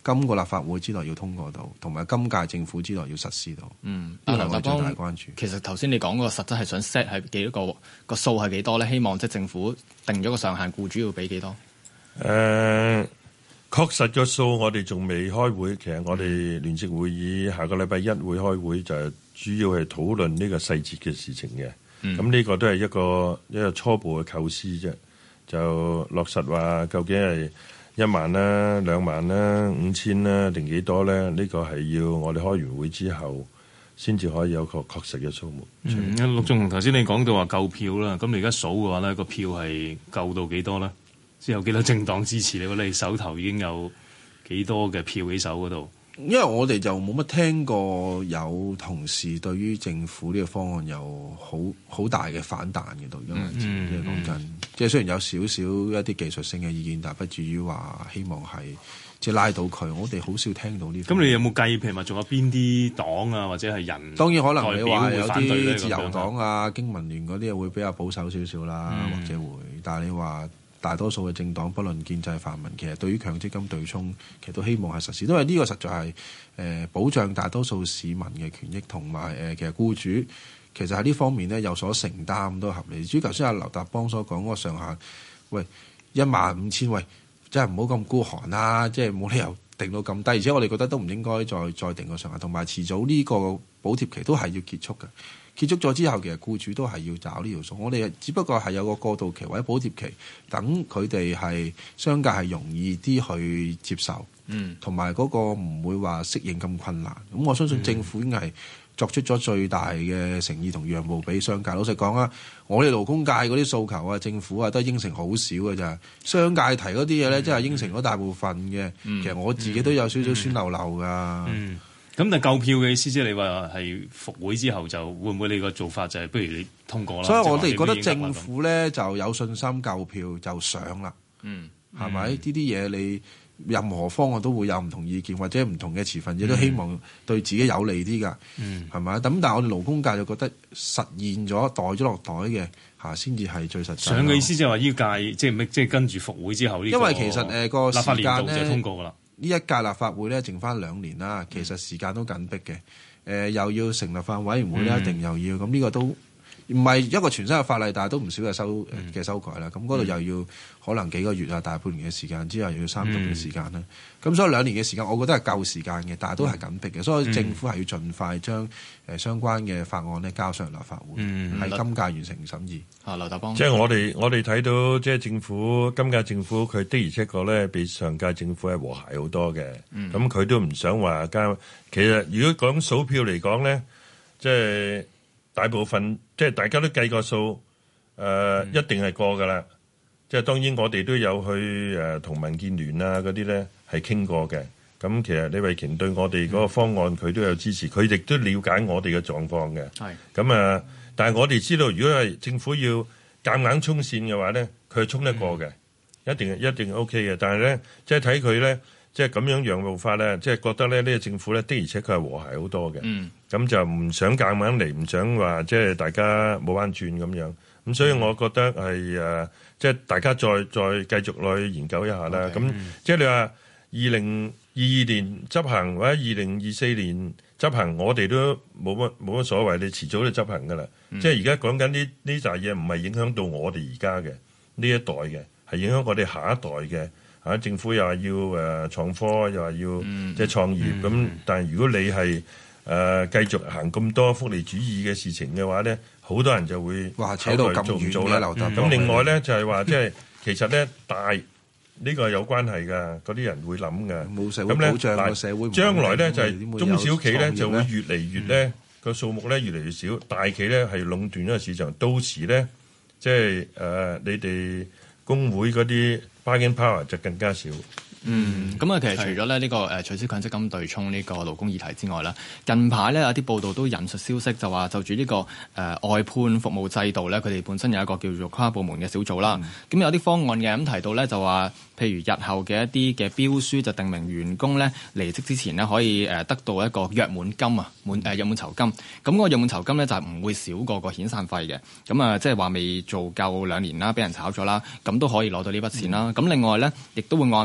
今個立法會之內要通過到，同埋今屆政府之內要實施到。 嗯， 呢個係我最劉達邦大關注。 其實頭先你講嗰個實質係想 set 係幾多個個數係幾多咧？希望即係政府定咗個上限，僱主要俾幾多？ 誒、呃，確實個數我哋仲未開會。其實我哋聯席會議下個禮拜一會開會，就係主要係討論呢個細節嘅事情嘅。咁呢、嗯、個都係一個一個初步嘅構思啫。就落實話究竟係一萬啦、兩萬啦、五千啦定幾多咧？呢、這個係要我哋開完會之後先至可以有個確實嘅數目。 嗯，陸頌雄頭先你講到話夠票啦，咁你而家數嘅話咧，個票係夠到幾多咧？即係有幾多政黨支持你？你手頭已經有幾多嘅票喺手嗰度？ 因為我哋就冇乜聽過有同事對於政府呢個方案有好好大嘅反彈嘅度，因為即係講真，即係雖然有少少一啲技術性嘅意見，但係不至於話希望係即係拉到佢。我哋好少聽到呢。 咁你有冇計？譬如話仲有邊啲黨啊，或者係人？ 當然可能你話有啲自由黨黨啊、經民聯嗰啲會比較保守少少啦，嗯、或者會。但係你話大多數嘅政黨，不論建制泛民，其實對於強積金對沖，其實都希望係實施，因為呢個實在係誒、呃、保障大多數市民嘅權益，同埋誒其實僱主其實喺呢方面咧有所承擔都合理。至於頭先阿劉達邦所講嗰個上限，喂一萬五千，喂真係唔好咁孤寒啦，即係冇理由定到咁低，而且我哋覺得都唔應該再再定個上限，同埋遲早呢個補貼期都係要結束嘅。結束咗之後，其實僱主都係要找呢條數。我哋只不過係有個過渡期或者補貼期，等佢哋係商界係容易啲去接受，嗯，同埋嗰個唔會話適應咁困難。咁我相信政府已經係作出咗最大嘅誠意同讓步俾商界。老實講啊，我哋勞工界嗰啲訴求啊，政府啊都係應承好少嘅咋。商界提嗰啲嘢咧，真係應承咗大部分嘅。嗯、其實我自己都有少少酸溜溜㗎。嗯嗯咁但係夠票嘅意思，即係你話係復會之後就會唔會你個做法就係不如你通過啦？ 所以我哋覺得政府咧就有信心夠票就上啦。嗯，係咪呢啲嘢你任何方案都會有唔同意見或者唔同嘅持份者都希望對自己有利啲㗎。嗯，係咪？咁但係我哋勞工界就覺得實現咗袋咗落袋嘅嚇先至係最實際。 上嘅意思即係話呢屆即係即係跟住復會之後呢個？ 因為其實誒個立法年度時間就通過㗎啦。 呢一屆立法會咧，剩翻兩年啦，其實時間都緊迫嘅。誒、呃，又要成立法委員會咧，一定又要咁呢、嗯、個都唔係一個全新嘅法例，但係都唔少嘅修嘅、嗯、修改啦。咁嗰度又要可能幾個月啊，大半年嘅時間之後，又要三讀嘅時間啦。咁、嗯、所以兩年嘅時間，我覺得係夠時間嘅，但係都係緊迫嘅。所以政府係要盡快將誒相關嘅法案咧交上立法會，喺、嗯、今屆完成審議。啊，劉達邦， 即係我哋我哋睇到，即係政府今屆政府佢的而且確咧，比上屆政府係和諧好多嘅。咁佢、嗯、都唔想話加。其實如果講數票嚟講咧，即係大部分即係大家都計個數，誒、呃嗯、一定係過㗎啦。即係當然我哋都有去誒同、呃、民建聯啊嗰啲咧係傾過嘅。咁其實李慧瓊對我哋嗰個方案佢、嗯、都有支持，佢亦都了解我哋嘅狀況嘅。係咁啊！但係我哋知道，如果係政府要夾硬衝線嘅話咧，佢係衝得過嘅、嗯，一定一定 O K 嘅。但係咧，即係睇佢咧，即係咁樣讓步法咧，即係覺得咧呢、呢個政府咧的而且確係和諧好多嘅。嗯，咁就唔想夾硬嚟，唔想話即係大家冇彎轉咁樣。咁所以我覺得係誒、呃，即係大家再再繼續落去研究一下啦。咁、okay, 嗯、即係你話二零二二年執行或者二零二四年執行，我哋都冇乜冇乜所謂，你遲早都執行噶啦。嗯、即係而家講緊呢呢扎嘢，唔係影響到我哋而家嘅呢一代嘅，係影響我哋下一代嘅。嚇、啊，政府又話要誒、呃、創科，又話要、嗯、即係創業。咁、嗯、但係如果你係誒、呃、繼續行咁多福利主義嘅事情嘅話咧，好多人就會哇扯到咁遠嘅劉達邦。 咁另外咧就係、是、話，即係其實咧大。呢個係有關係㗎，嗰啲人會諗㗎。 冇社會保障個社會， 將來咧就係中小企咧就會越嚟越咧個數目咧越嚟越少，大企咧係壟斷咗個市場。到時咧即係誒你哋工會嗰啲 bargaining power 就更加少。 嗯，咁啊，其實除咗咧呢個誒取消強積金對沖呢個勞工議題之外咧，近排咧有啲報道都引述消息，就話就住呢、這個誒、呃、外判服務制度咧，佢哋本身有一個叫做跨部門嘅小組啦。咁、嗯、有啲方案嘅，咁提到咧就話，譬如日後嘅一啲嘅標書就定明員工咧離職之前咧可以誒得到一個約滿金啊，滿誒約滿酬金。咁、那、嗰個約滿酬金咧就係唔會少過個遣散費嘅。咁啊，即係話未做夠兩年啦，俾人炒咗啦，咁都可以攞到呢筆錢啦。咁、嗯、另外咧，亦都會按比例咧。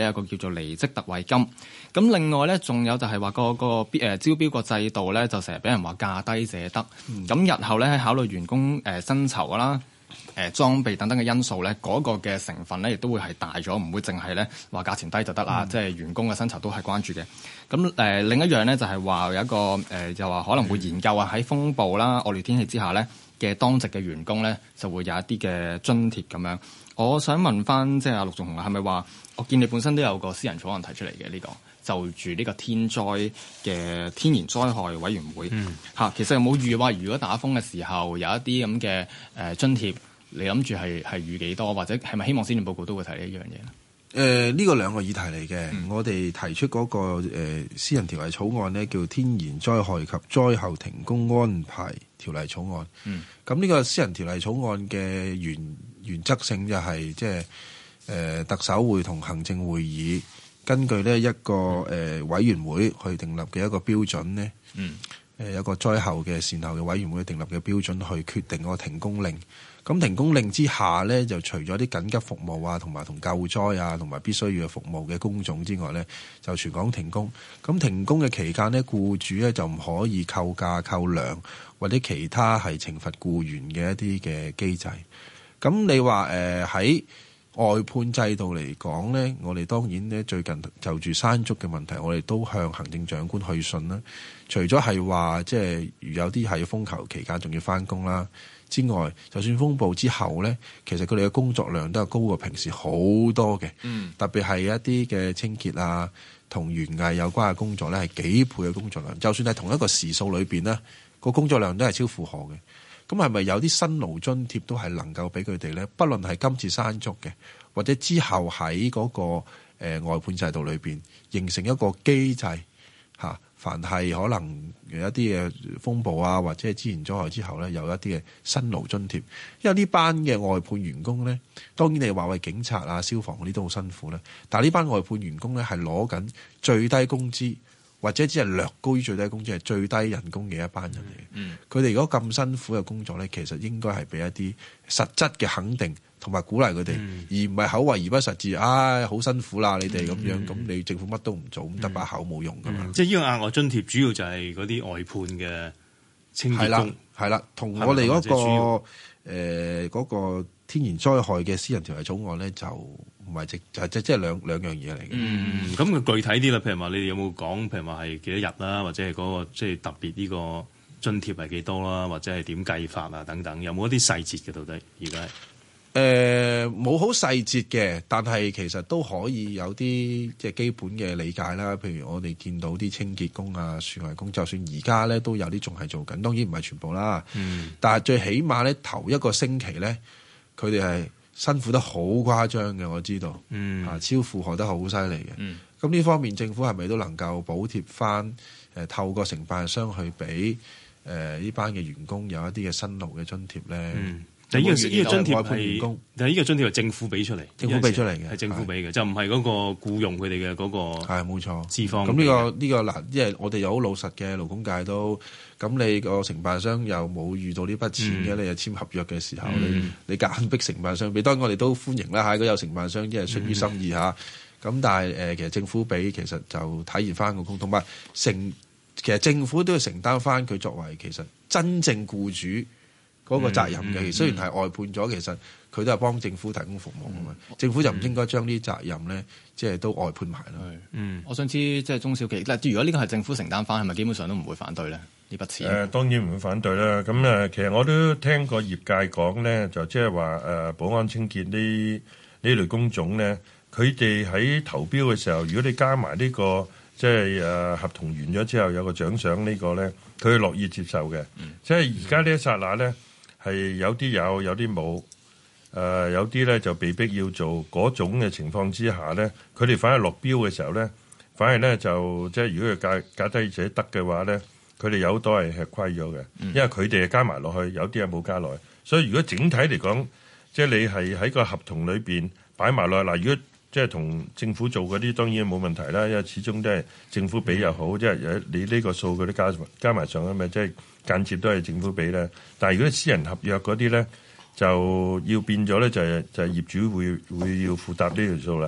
有個叫做離職特惠金。咁另外咧，仲有就係話個個誒招標個制度咧，就成日俾人話價低者得。咁、嗯、日後咧喺考慮員工誒薪酬啦、誒裝備等等嘅因素咧，嗰、那個嘅成分咧亦都會係大咗，唔會淨係咧話價錢低就得啦。嗯、即係員工嘅薪酬都係關注嘅。咁誒、呃、另一樣咧就係話有一個誒、呃、就話可能會研究啊喺風暴啦、惡劣天氣之下咧嘅當值嘅員工咧就會有一啲嘅津貼咁樣。我想問翻即係阿陸頌雄啊，係咪話我見你本身都有個私人草案提出嚟嘅呢個？就住呢個天災嘅天然災害委員會嚇、嗯，其實有冇預話如果打風嘅時候有一啲咁嘅誒津貼，你諗住係係預幾多，或者係咪希望施政報告都會提呢一樣嘢咧？ 誒、呃，呢、這個兩個議題嚟嘅、嗯，我哋提出嗰、那個、呃、私人條例草案呢，叫《天然災害及災後停工安排條例草案》。嗯，咁呢個私人條例草案嘅原原則性就係即係誒特首會同行政會議。根據呢一個誒、呃、委員會去訂立嘅一個標準呢，嗯，誒有個災後嘅善後嘅委員會訂立嘅標準去決定個停工令。咁停工令之下呢，就除咗啲緊急服務啊，同埋同救災啊，同埋必須要嘅服務嘅工種之外呢，就全港停工。咁停工嘅期間呢，僱主呢就唔可以扣假、扣糧或者其他係懲罰僱員嘅一啲嘅機制。咁你話誒喺外判制度嚟講呢，我哋當然呢最近就住山竹嘅問題，我哋都向行政長官去信啦。除咗係話即係有啲係風球期間仲要返工啦之外，就算風暴之後呢，其實佢哋嘅工作量都係高過平時好多嘅。嗯，特別係一啲嘅清潔啊，同園藝有關嘅工作呢，係幾倍嘅工作量。就算係同一個時數裏邊呢，個工作量都係超負荷嘅。咁係咪有啲辛勞津貼都係能夠俾佢哋呢？不論係今次山竹嘅，或者之後喺嗰、那個、呃、外判制度裏邊形成一個機制嚇、啊，凡係可能有一啲嘅風暴啊，或者係自然災害之後呢，有一啲嘅辛勞津貼。因為呢班嘅外判員工呢，當然你話為警察啊、消防嗰啲都好辛苦啦，但係呢班外判員工呢，係攞緊最低工資，或者只係略高於最低工資，係最低人工嘅一班人嚟嘅。佢哋如果咁辛苦嘅工作咧，其實應該係俾一啲實質嘅肯定同埋鼓勵佢哋，嗯、而唔係口惠而不實字。唉、哎，好辛苦啦，你哋咁樣，咁、嗯、你政府乜都唔做，咁得把口冇用噶嘛。嗯、即係呢個額外津貼，主要就係嗰啲外判嘅清潔工。係啦，係啦，同我哋嗰、嗰個誒嗰、呃嗰個天然災害嘅私人條例草案咧就。唔係即就即即係兩兩樣嘢嚟嘅。嗯，咁佢具體啲啦，譬如話你哋有冇講，譬如話係幾多日啦，或者係嗰、嗰個即係特別呢個津貼係幾多啦，或者係點計法啊等等，有冇一啲細節嘅到底？而家誒冇好細節嘅，但係其實都可以有啲即係基本嘅理解啦。譬如我哋見到啲清潔工啊、樹藝工，就算而家咧都有啲仲係做緊，當然唔係全部啦。嗯，但係最起碼咧頭一個星期咧，佢哋係辛苦得好誇張嘅，我知道，嗯，啊超負荷得好犀利嘅，嗯，咁呢方面政府係咪都能夠補貼翻？誒、呃，透過承辦商去俾誒呢班嘅員工有一啲嘅辛勞嘅津貼咧？嗯，但係呢個呢個津貼係，但係呢個津貼係政府俾出嚟，政府俾出嚟嘅，係政府俾嘅，就唔係嗰個僱用佢哋嘅嗰個係冇錯資方。咁呢、呢個呢、呢個嗱，因為我哋有好老實嘅勞工界都。咁你個承辦商又冇遇到呢筆錢嘅、嗯，你又簽合約嘅時候，嗯、你你夾硬逼承辦商俾，當然我哋都歡迎啦嚇。如果有承辦商即係出於心意嚇，咁、嗯、但係誒、呃、其實政府俾其實就體現翻個公，同埋承其實政府都要承擔翻佢作為其實真正僱主嗰個責任嘅。嗯嗯、雖然係外判咗，其實佢都係幫政府提供服務㗎嘛、嗯。政府就唔應該將呢啲責任咧，即係都外判埋啦。嗯，我想知即係中小企，如果呢個係政府承擔翻，係咪基本上都唔會反對咧？呢筆錢誒當然唔會反對啦。咁誒，其實我都聽過業界講咧，就即係話誒保安清潔呢呢類工種咧，佢哋喺投標嘅時候，如果你加埋呢、呢個即係誒合同完咗之後有個獎賞呢個咧，佢樂意接受嘅。嗯、即係而家呢一剎那咧，係有啲有，有啲冇。誒、呃、有啲咧就被逼要做嗰種嘅情況之下咧，佢哋反而落標嘅時候咧，反而咧就即係如果佢價價低者得嘅話咧。佢哋有好多係吃虧咗嘅，因為佢哋係加埋落去，有啲係冇加落去。所以如果整體嚟講，即係你係喺個合同裏邊擺埋落去嗱，如果即係同政府做嗰啲，當然冇問題啦，因為始終都係政府俾又好，即係你呢個數嗰啲加加埋上啊嘛，即係間接都係政府俾咧。但係如果私人合約嗰啲咧，就要變咗咧，就係就係業主會會要負擔呢條數啦。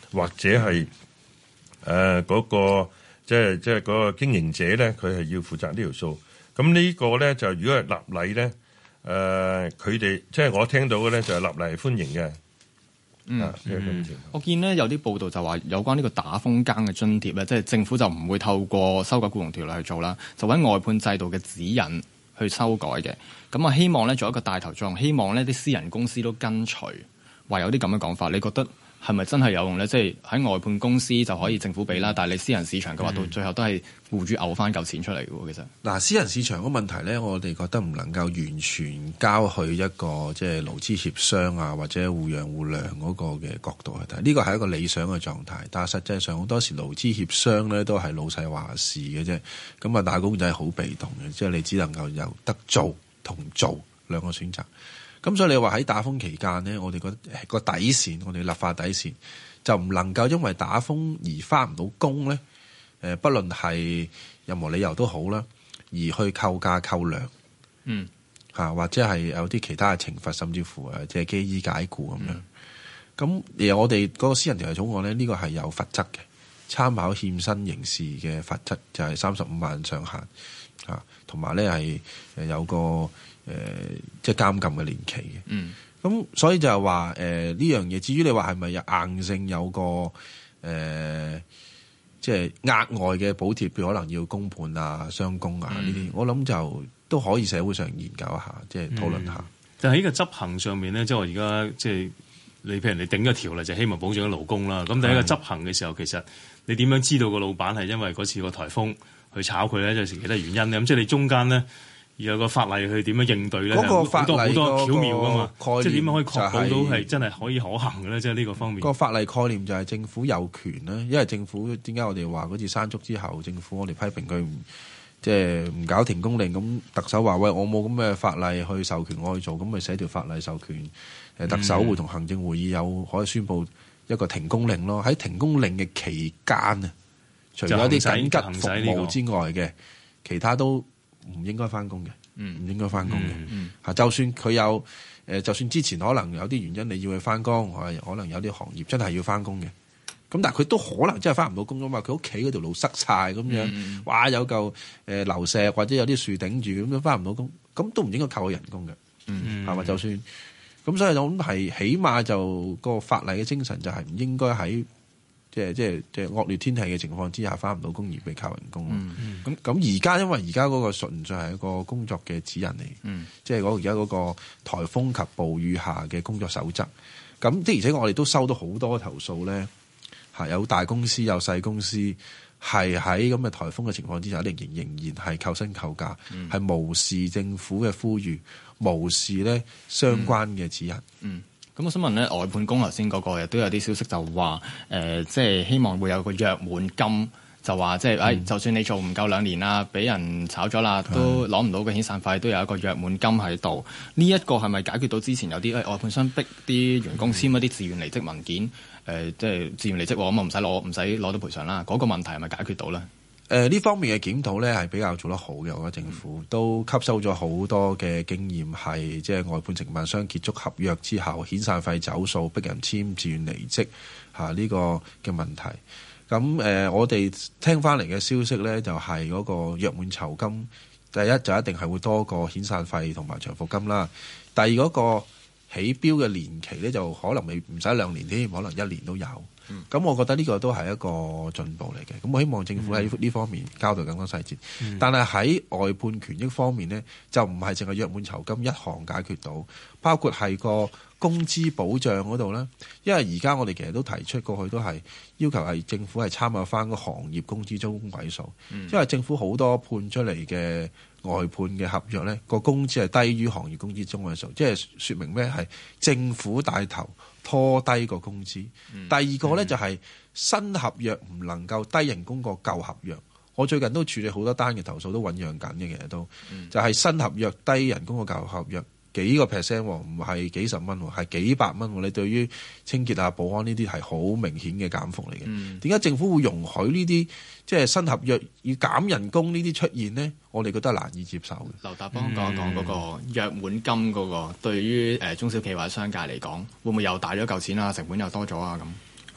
或者係誒嗰個即係即係嗰個經營者咧，佢係要負責呢條數。咁呢個咧就如果係立例咧，誒佢哋即係我聽到嘅咧就係立例係歡迎嘅。 嗯，嗯我見呢有啲報道就話有關呢個打風更嘅津貼咧，即係政府就唔會透過修改僱傭條例去做啦，就揾外判制度嘅指引去修改嘅。咁啊，希望咧做一個帶頭作用，希望呢啲私人公司都跟隨，話有啲咁嘅講法。你覺得係咪真係有用咧？即係喺外判公司就可以政府俾啦，但係你私人市場嘅話，到最後都係僱主嘔翻嚿錢出嚟嘅喎。其實嗱，私人市場個問題咧，我哋覺得唔能夠完全交去一個即係勞資協商啊，或者互讓互諒嗰個嘅角度去睇。呢個係一個理想嘅狀態，但係實際上好多時勞資協商咧都係老細話事嘅啫。咁啊，打工仔好被動嘅，即係你只能夠有得做同做兩個選擇。咁所以你話喺打風期間呢，我哋覺得個底線，我哋立法底線就唔能夠因為打風而返唔到工咧。誒，不論係任何理由都好啦，而去扣假扣糧，嗯嚇，或者係有啲其他嘅懲罰，甚至乎誒即係基於解僱咁樣。咁、嗯、而我哋嗰個私人條例草案咧，呢、這個係有罰則嘅，參考欠薪刑事嘅罰則就係三十五萬上限嚇，同埋咧係誒有個誒即係監禁嘅年期嘅。嗯，咁所以就係話誒呢樣嘢。至於你話係咪有硬性有個誒？呃即係額外嘅補貼，譬如可能要公判啊、雙工啊呢啲、嗯，我諗就都可以社會上研究一下，即係討論下。 嗯、但係喺個執行上面咧，即係我而家即係你譬如你定咗條例，就希望保障咗勞工啦。咁但係喺個執行嘅時候，其實你點樣知道個老闆係因為嗰次個颱風去炒佢咧，即係其他原因咧？咁即係你中間咧有個法例去點樣應對咧？嗰、那個法例好多巧妙噶嘛，即係點樣可以確保到係真係可以可行嘅咧？即係呢個方面。 個法例概念就係政府有權啦，因為政府點解我哋話嗰次山竹之後，政府我哋批評佢唔即係唔搞停工令，咁特首話喂，我冇咁嘅法例去授權我去做，咁咪寫條法例授權誒特首會同行政會議有可以宣佈一個停工令咯。喺停工令嘅期間啊，除咗一啲緊急服務之外嘅，其他都唔應該翻工嘅，唔應該翻工嘅。嚇、嗯嗯，就算佢有誒，就算之前可能有啲原因你要去翻工，可能有啲行業真係要翻工嘅。咁但係佢都可能真係翻唔到工㗎嘛，佢屋企嗰條路塞晒咁樣，嗯、哇有嚿誒流石或者有啲樹頂住咁樣翻唔到工，咁都唔應該扣佢人工嘅，係、嗯、嘛？就算咁，所以我諗係起碼就個法例嘅精神就係唔應該喺即係即係即係惡劣天氣嘅情況之下翻唔到工而被扣人工咯。咁咁而家因為而家嗰個純粹係一個工作嘅指引嚟，嗯、即係嗰而家嗰個颱風及暴雨下嘅工作守則。咁的而且確我哋都收到好多投訴咧。有大公司有細公司係喺咁嘅颱風嘅情況之下，仍然仍然係扣薪扣假，係、嗯、無視政府嘅呼籲，無視咧相關嘅指引。 嗯，咁、嗯、我想問咧，外判工頭先嗰個亦都有啲消息就話，誒、呃，即係希望會有個約滿金，就話即係，誒、哎，就算你做唔夠兩年啦，俾人炒咗啦，都攞唔到個遣散費，都有一個約滿金喺度。呢、這、一個係咪解決到之前有啲誒外判商逼啲員工簽一啲自願離職文件？誒、呃，即係自願離職喎，咁啊唔使攞，唔使攞到賠償啦。嗰、那個問題係咪解決到咧？誒、 呃，呢方面嘅檢討咧係比較做得好嘅，我覺得政府、嗯、都吸收咗好多嘅經驗，係即係外判承辦商結束合約之後，遣散費走數，逼人簽自願離職嚇呢、啊這個嘅問題。咁誒、呃，我哋聽翻嚟嘅消息咧，就係、是、嗰個約滿酬金，第一就一定係會多過遣散費同埋長服金啦。第二嗰、那個起標嘅年期咧，就可能未唔使兩年添，可能一年都有。咁、嗯、我覺得呢個都係一個進步嚟嘅。咁我希望政府喺呢方面交代更多細節。嗯、但係喺外判權益方面呢，就唔係淨係約滿酬金一項解決到，包括係個工資保障嗰度啦。因為而家我哋其實都提出過去都係要求係政府係參考翻個行業工資中位數、嗯，因為政府好多判出嚟嘅外判嘅合約呢，個工資係低於行業工資中位數，即係說明咩？係政府帶頭拖低個工資、嗯。第二個呢，就係、是、新合約唔能夠低人工過舊合約。我最近都處理好多單嘅投訴，都醖釀緊嘅，其實都、嗯、就係、是、新合約低人工過舊合約幾個 percent， 唔係幾十蚊，係幾百蚊。你對於清潔啊、保安呢啲係好明顯嘅減幅嚟嘅。點、嗯、解政府會容許呢啲即係新合約要減人工呢啲出現呢？我哋覺得難以接受嘅。 劉達邦講一講嗰個約滿金嗰、那個，對於誒中小企或者商界嚟講，會唔會又大咗嚿錢啊？成本又多咗啊？咁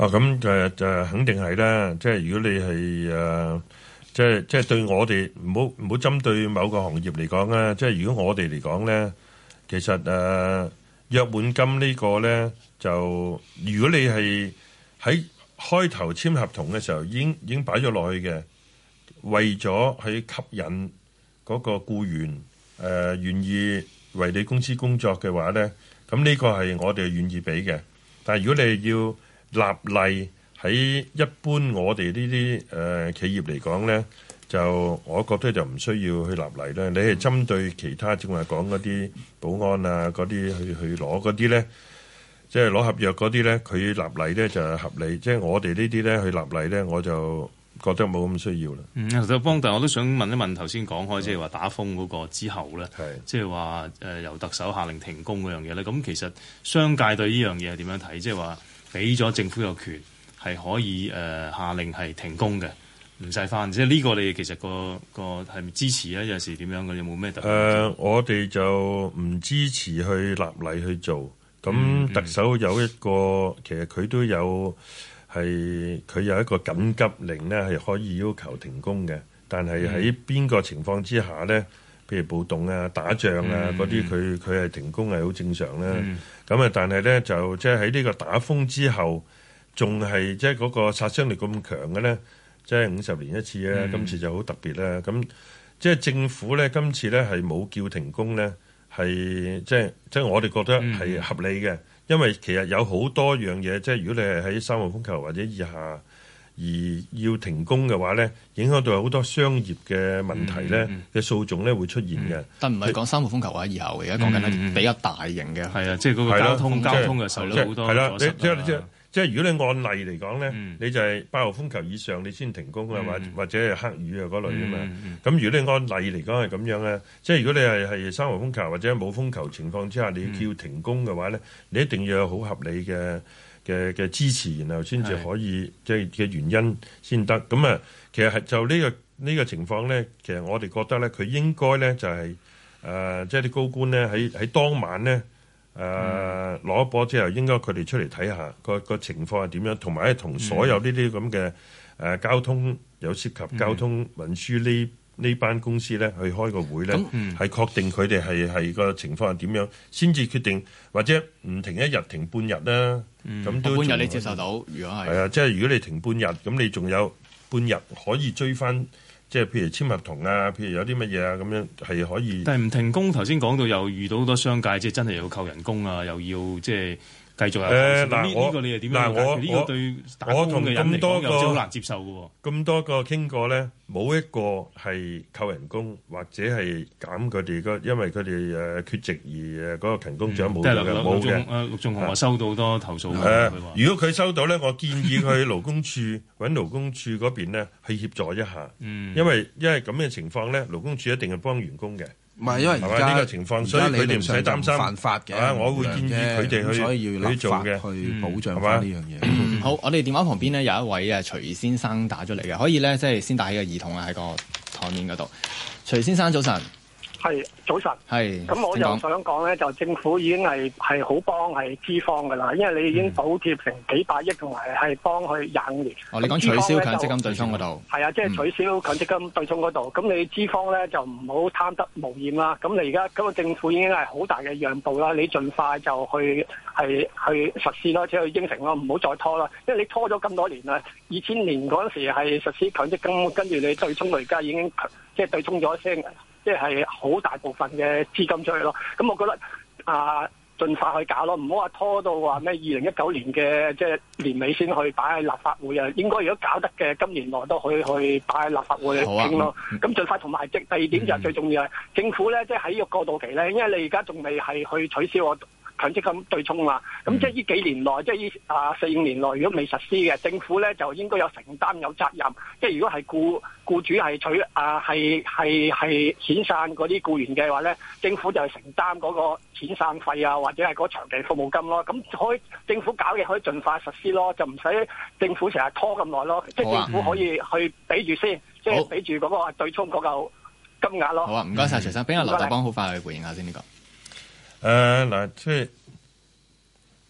哦，咁就就肯定係啦。即係如果你係誒、呃，即係即係對我哋唔好唔好針對某個行業嚟講啦。即係如果我哋嚟講咧，其實誒、呃、約滿金呢個咧，就如果你係喺開頭簽合同嘅時候已經已經擺咗落去嘅，為咗去吸引嗰個僱員誒願意為你公司工作嘅話咧，咁呢個係我哋願意俾嘅。但係如果你要立例喺一般我哋呢啲誒企業嚟講咧，就我覺得就唔需要去立例咧。你係針對其他正話講嗰啲保安啊嗰啲去去攞嗰啲咧，即係攞合約嗰啲咧，佢立例咧就係合理。即係我哋呢啲咧去立例咧，我就覺得冇咁需要啦。 嗯，其實邦達我都想問一問頭先講開，即係話打風嗰個之後咧，即係話誒由特首下令停工嗰樣嘢咧。咁其實商界對呢樣嘢係點樣睇？即係話俾咗政府有權係可以誒、呃、下令係停工嘅，唔使翻。即係呢個你其實個個係咪支持咧？有時點樣嘅？有冇咩特別？誒、 呃，我哋就唔支持去立例去做。咁特首有一個，嗯、其實佢都有。係佢有一個緊急令咧，係可以要求停工嘅。但係喺邊個情況之下咧？譬如暴動啊、打仗啊嗰啲，佢佢係停工係好正常啦。咁啊、嗯，但係咧就即係喺呢個打風之後，仲係即係嗰個殺傷力咁強嘅咧，即係五十年一次咧，嗯、今次就好特別啦。咁即係政府咧，今次咧係冇叫停工咧，係即係即係我哋覺得係合理嘅。嗯因為其實有好多樣嘢，即係如果你係喺三號風球或者以下而要停工嘅話咧，影響到好多商業嘅問題咧嘅訴訟咧會出現嘅、嗯。但唔係講三號風球或者以後，而家講緊係比較大型嘅。係啊，即係嗰個交通交通嘅受到好多阻塞啦。即係即係即係如果你按例嚟講咧，嗯、你就係八號風球以上你先停工啊，或、嗯、或者係黑雨啊嗰類啊嘛。咁、嗯嗯、如果你按例嚟講係咁樣咧，即係如果你係係三號風球或者冇風球情況之下，你要叫停工嘅話咧，嗯、你一定要有好合理嘅嘅嘅支持，然後先至可以即係嘅原因先得。咁啊，其實係就呢、呢個呢、呢個情況咧，其實我哋覺得咧，佢應該咧就係、是、誒、呃，即係啲高官咧喺喺當晚咧。誒攞、呃嗯、波之後，應該佢哋出嚟睇下個個情況係點樣，同埋同所有呢啲咁嘅誒交通有涉及交通運輸呢呢、嗯、班公司咧去開個會咧，係、嗯、確定佢哋係係個情況係點樣，先至決定或者唔停一日停半日啦。咁、嗯、都半日你接受到？如果係係啊，即係如果你停半日，咁你仲有半日可以追翻。即係譬如簽合同啊，譬如有啲乜嘢啊，咁樣係可以。但係唔停工，頭先講到又遇到好多商界，即係真係要扣人工啊，又要即係繼續有。誒嗱，呢呢個你係點樣？嗱，我呢個對打工嘅人嚟講又好難接受嘅喎。咁多個傾過咧，冇一個係扣人工或者係減佢哋個，因為佢哋誒缺席而誒嗰個勤工獎冇嘅冇嘅。誒陸頌雄話收到好多投訴。誒，如果佢收到咧，我建議佢去勞工處揾勞工處嗰邊咧去協助一下。嗯。因為因為咁嘅情況咧，勞工處一定係幫員工嘅。唔係，因為而家呢個情況，所以佢哋唔使擔心犯法嘅。啊，我會建議佢哋去去做嘅，去保障翻呢樣嘢。好，我哋電話旁邊咧有一位啊徐先生打咗嚟嘅，可以咧即係先打起個耳筒啊喺個台面嗰度。徐先生早晨。 係早晨，係咁我又想講咧，就政府已經係係好幫係資方噶啦，因為你已經補貼成幾百億，同埋係幫佢廿五年。哦，你講取消強積金對沖嗰度？係啊，即係取消強積金對沖嗰度。咁、嗯、你資方咧就唔好貪得無厭啦。咁你而家咁個政府已經係好大嘅讓步啦，你盡快就去係去實施咯，即係去應承咯，唔好再拖啦。因為你拖咗咁多年啦，二千年嗰陣時係實施強積金，跟住你對沖到而家已經即係對沖咗聲。即係好大部分嘅資金出去咯，咁我覺得啊，盡快去搞咯，唔好話拖到話咩二零一九年嘅即係年尾先去擺喺立法會啊。應該如果搞得嘅，今年內都可以去擺喺立法會去傾咯。咁盡快同埋即第二點就係最重要係政府咧，即係喺呢個過渡期咧，因為你而家仲未係去取消我強積金對沖嘛，咁即係呢幾年內，即係呢啊四五年內，如果未實施嘅，政府咧就應該有承擔有責任。即係如果係僱僱主係取啊係係係遣散嗰啲僱員嘅話咧，政府就係承擔嗰個遣散費啊，或者係嗰長期服務金咯。咁可以政府搞嘢可以盡快實施咯，就唔使政府成日拖咁耐咯。即係政府可以去俾住先，即係俾住嗰個對沖嗰嚿金額咯。好啊，唔該晒徐生，俾阿劉達邦好快去回應下先呢個。 誒嗱，即係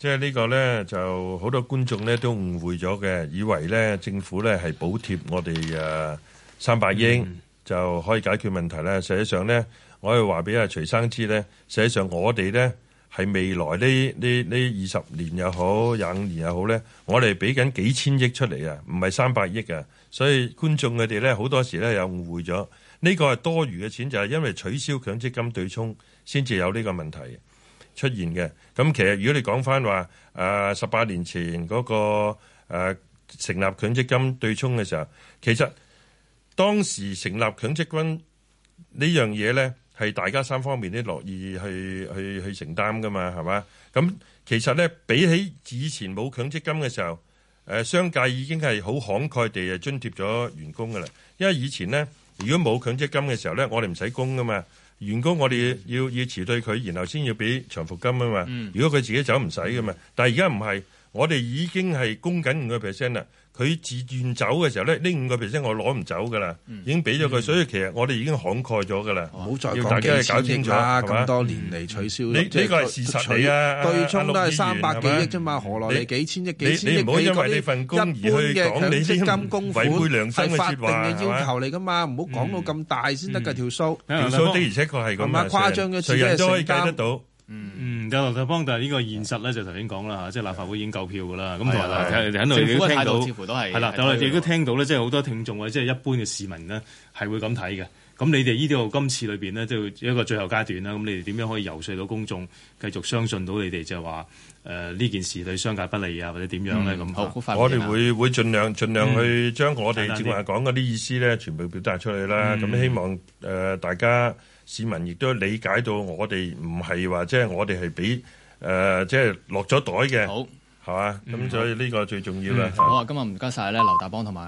即係呢個咧就好多觀眾咧都誤會咗嘅，以為咧政府咧係補貼我哋誒三百億、嗯、就可以解決問題咧。實際上咧，我係話俾阿徐生知咧，實際上我哋咧係未來呢呢呢二十年又好，廿五年又好咧，我哋俾緊幾千億出嚟啊，唔係三百億啊。所以觀眾佢哋咧好多時咧有誤會咗，呢個係多餘嘅錢，就係因為取消強積金對沖先至有呢個問題出現嘅。咁其實如果你講翻話誒十八年前嗰、那個誒、呃、成立強積金對沖嘅時候，其實當時成立強積金呢樣嘢咧係大家三方面都樂意去去去承擔噶嘛，係嘛？咁其實咧比起以前冇強積金嘅時候，誒、呃、商界已經係好慷慨地誒津貼咗員工噶啦。因為以前咧如果冇強積金嘅時候咧，我哋唔使供噶嘛。員工我哋要要辭退佢，然後先要俾長服金啊嘛。嗯、如果佢自己走唔使噶嘛，但係而家唔係，我哋已經係供緊五個 percent 啦。佢自願走嘅時候咧，呢五個 percent 我攞唔走噶啦，已經俾咗佢，所以其實我哋已經慷慨咗噶啦。唔好再講幾千億啦，咁多年嚟取消，呢呢個係事實嚟啊！對沖都係三百幾億啫嘛，何來你幾千億？幾千億？你唔好因為你份工而去講你啲金供款係法定嘅要求嚟噶嘛，唔好講到咁大先得㗎條數。條數的而且確係咁啊，誇張嘅，誰人都可以計得到。 嗯嗯，有劉達邦，但係呢個現實咧就頭先講啦嚇，即係立法會已經夠票噶啦。咁同埋喺度亦都聽到，係啦，但係我哋亦都聽到咧，即係好多聽眾或者即係一般嘅市民呢，係會咁睇嘅。咁你哋呢度今次裏邊呢，都一個最後階段啦。咁你哋點樣可以遊說到公眾繼續相信到你哋就係話誒呢件事對商界不利啊，或者點樣咧？咁、嗯、好， 我哋會會盡量盡量去將我哋正話講嗰啲意思咧，全部表達出去啦。咁、嗯、希望誒、呃、大家。市民亦都理解到我哋唔係話即係我哋係俾誒即係落咗袋嘅，好係嘛？咁所以呢個最重要啦。 好啊，今日唔該晒咧，劉達邦同埋。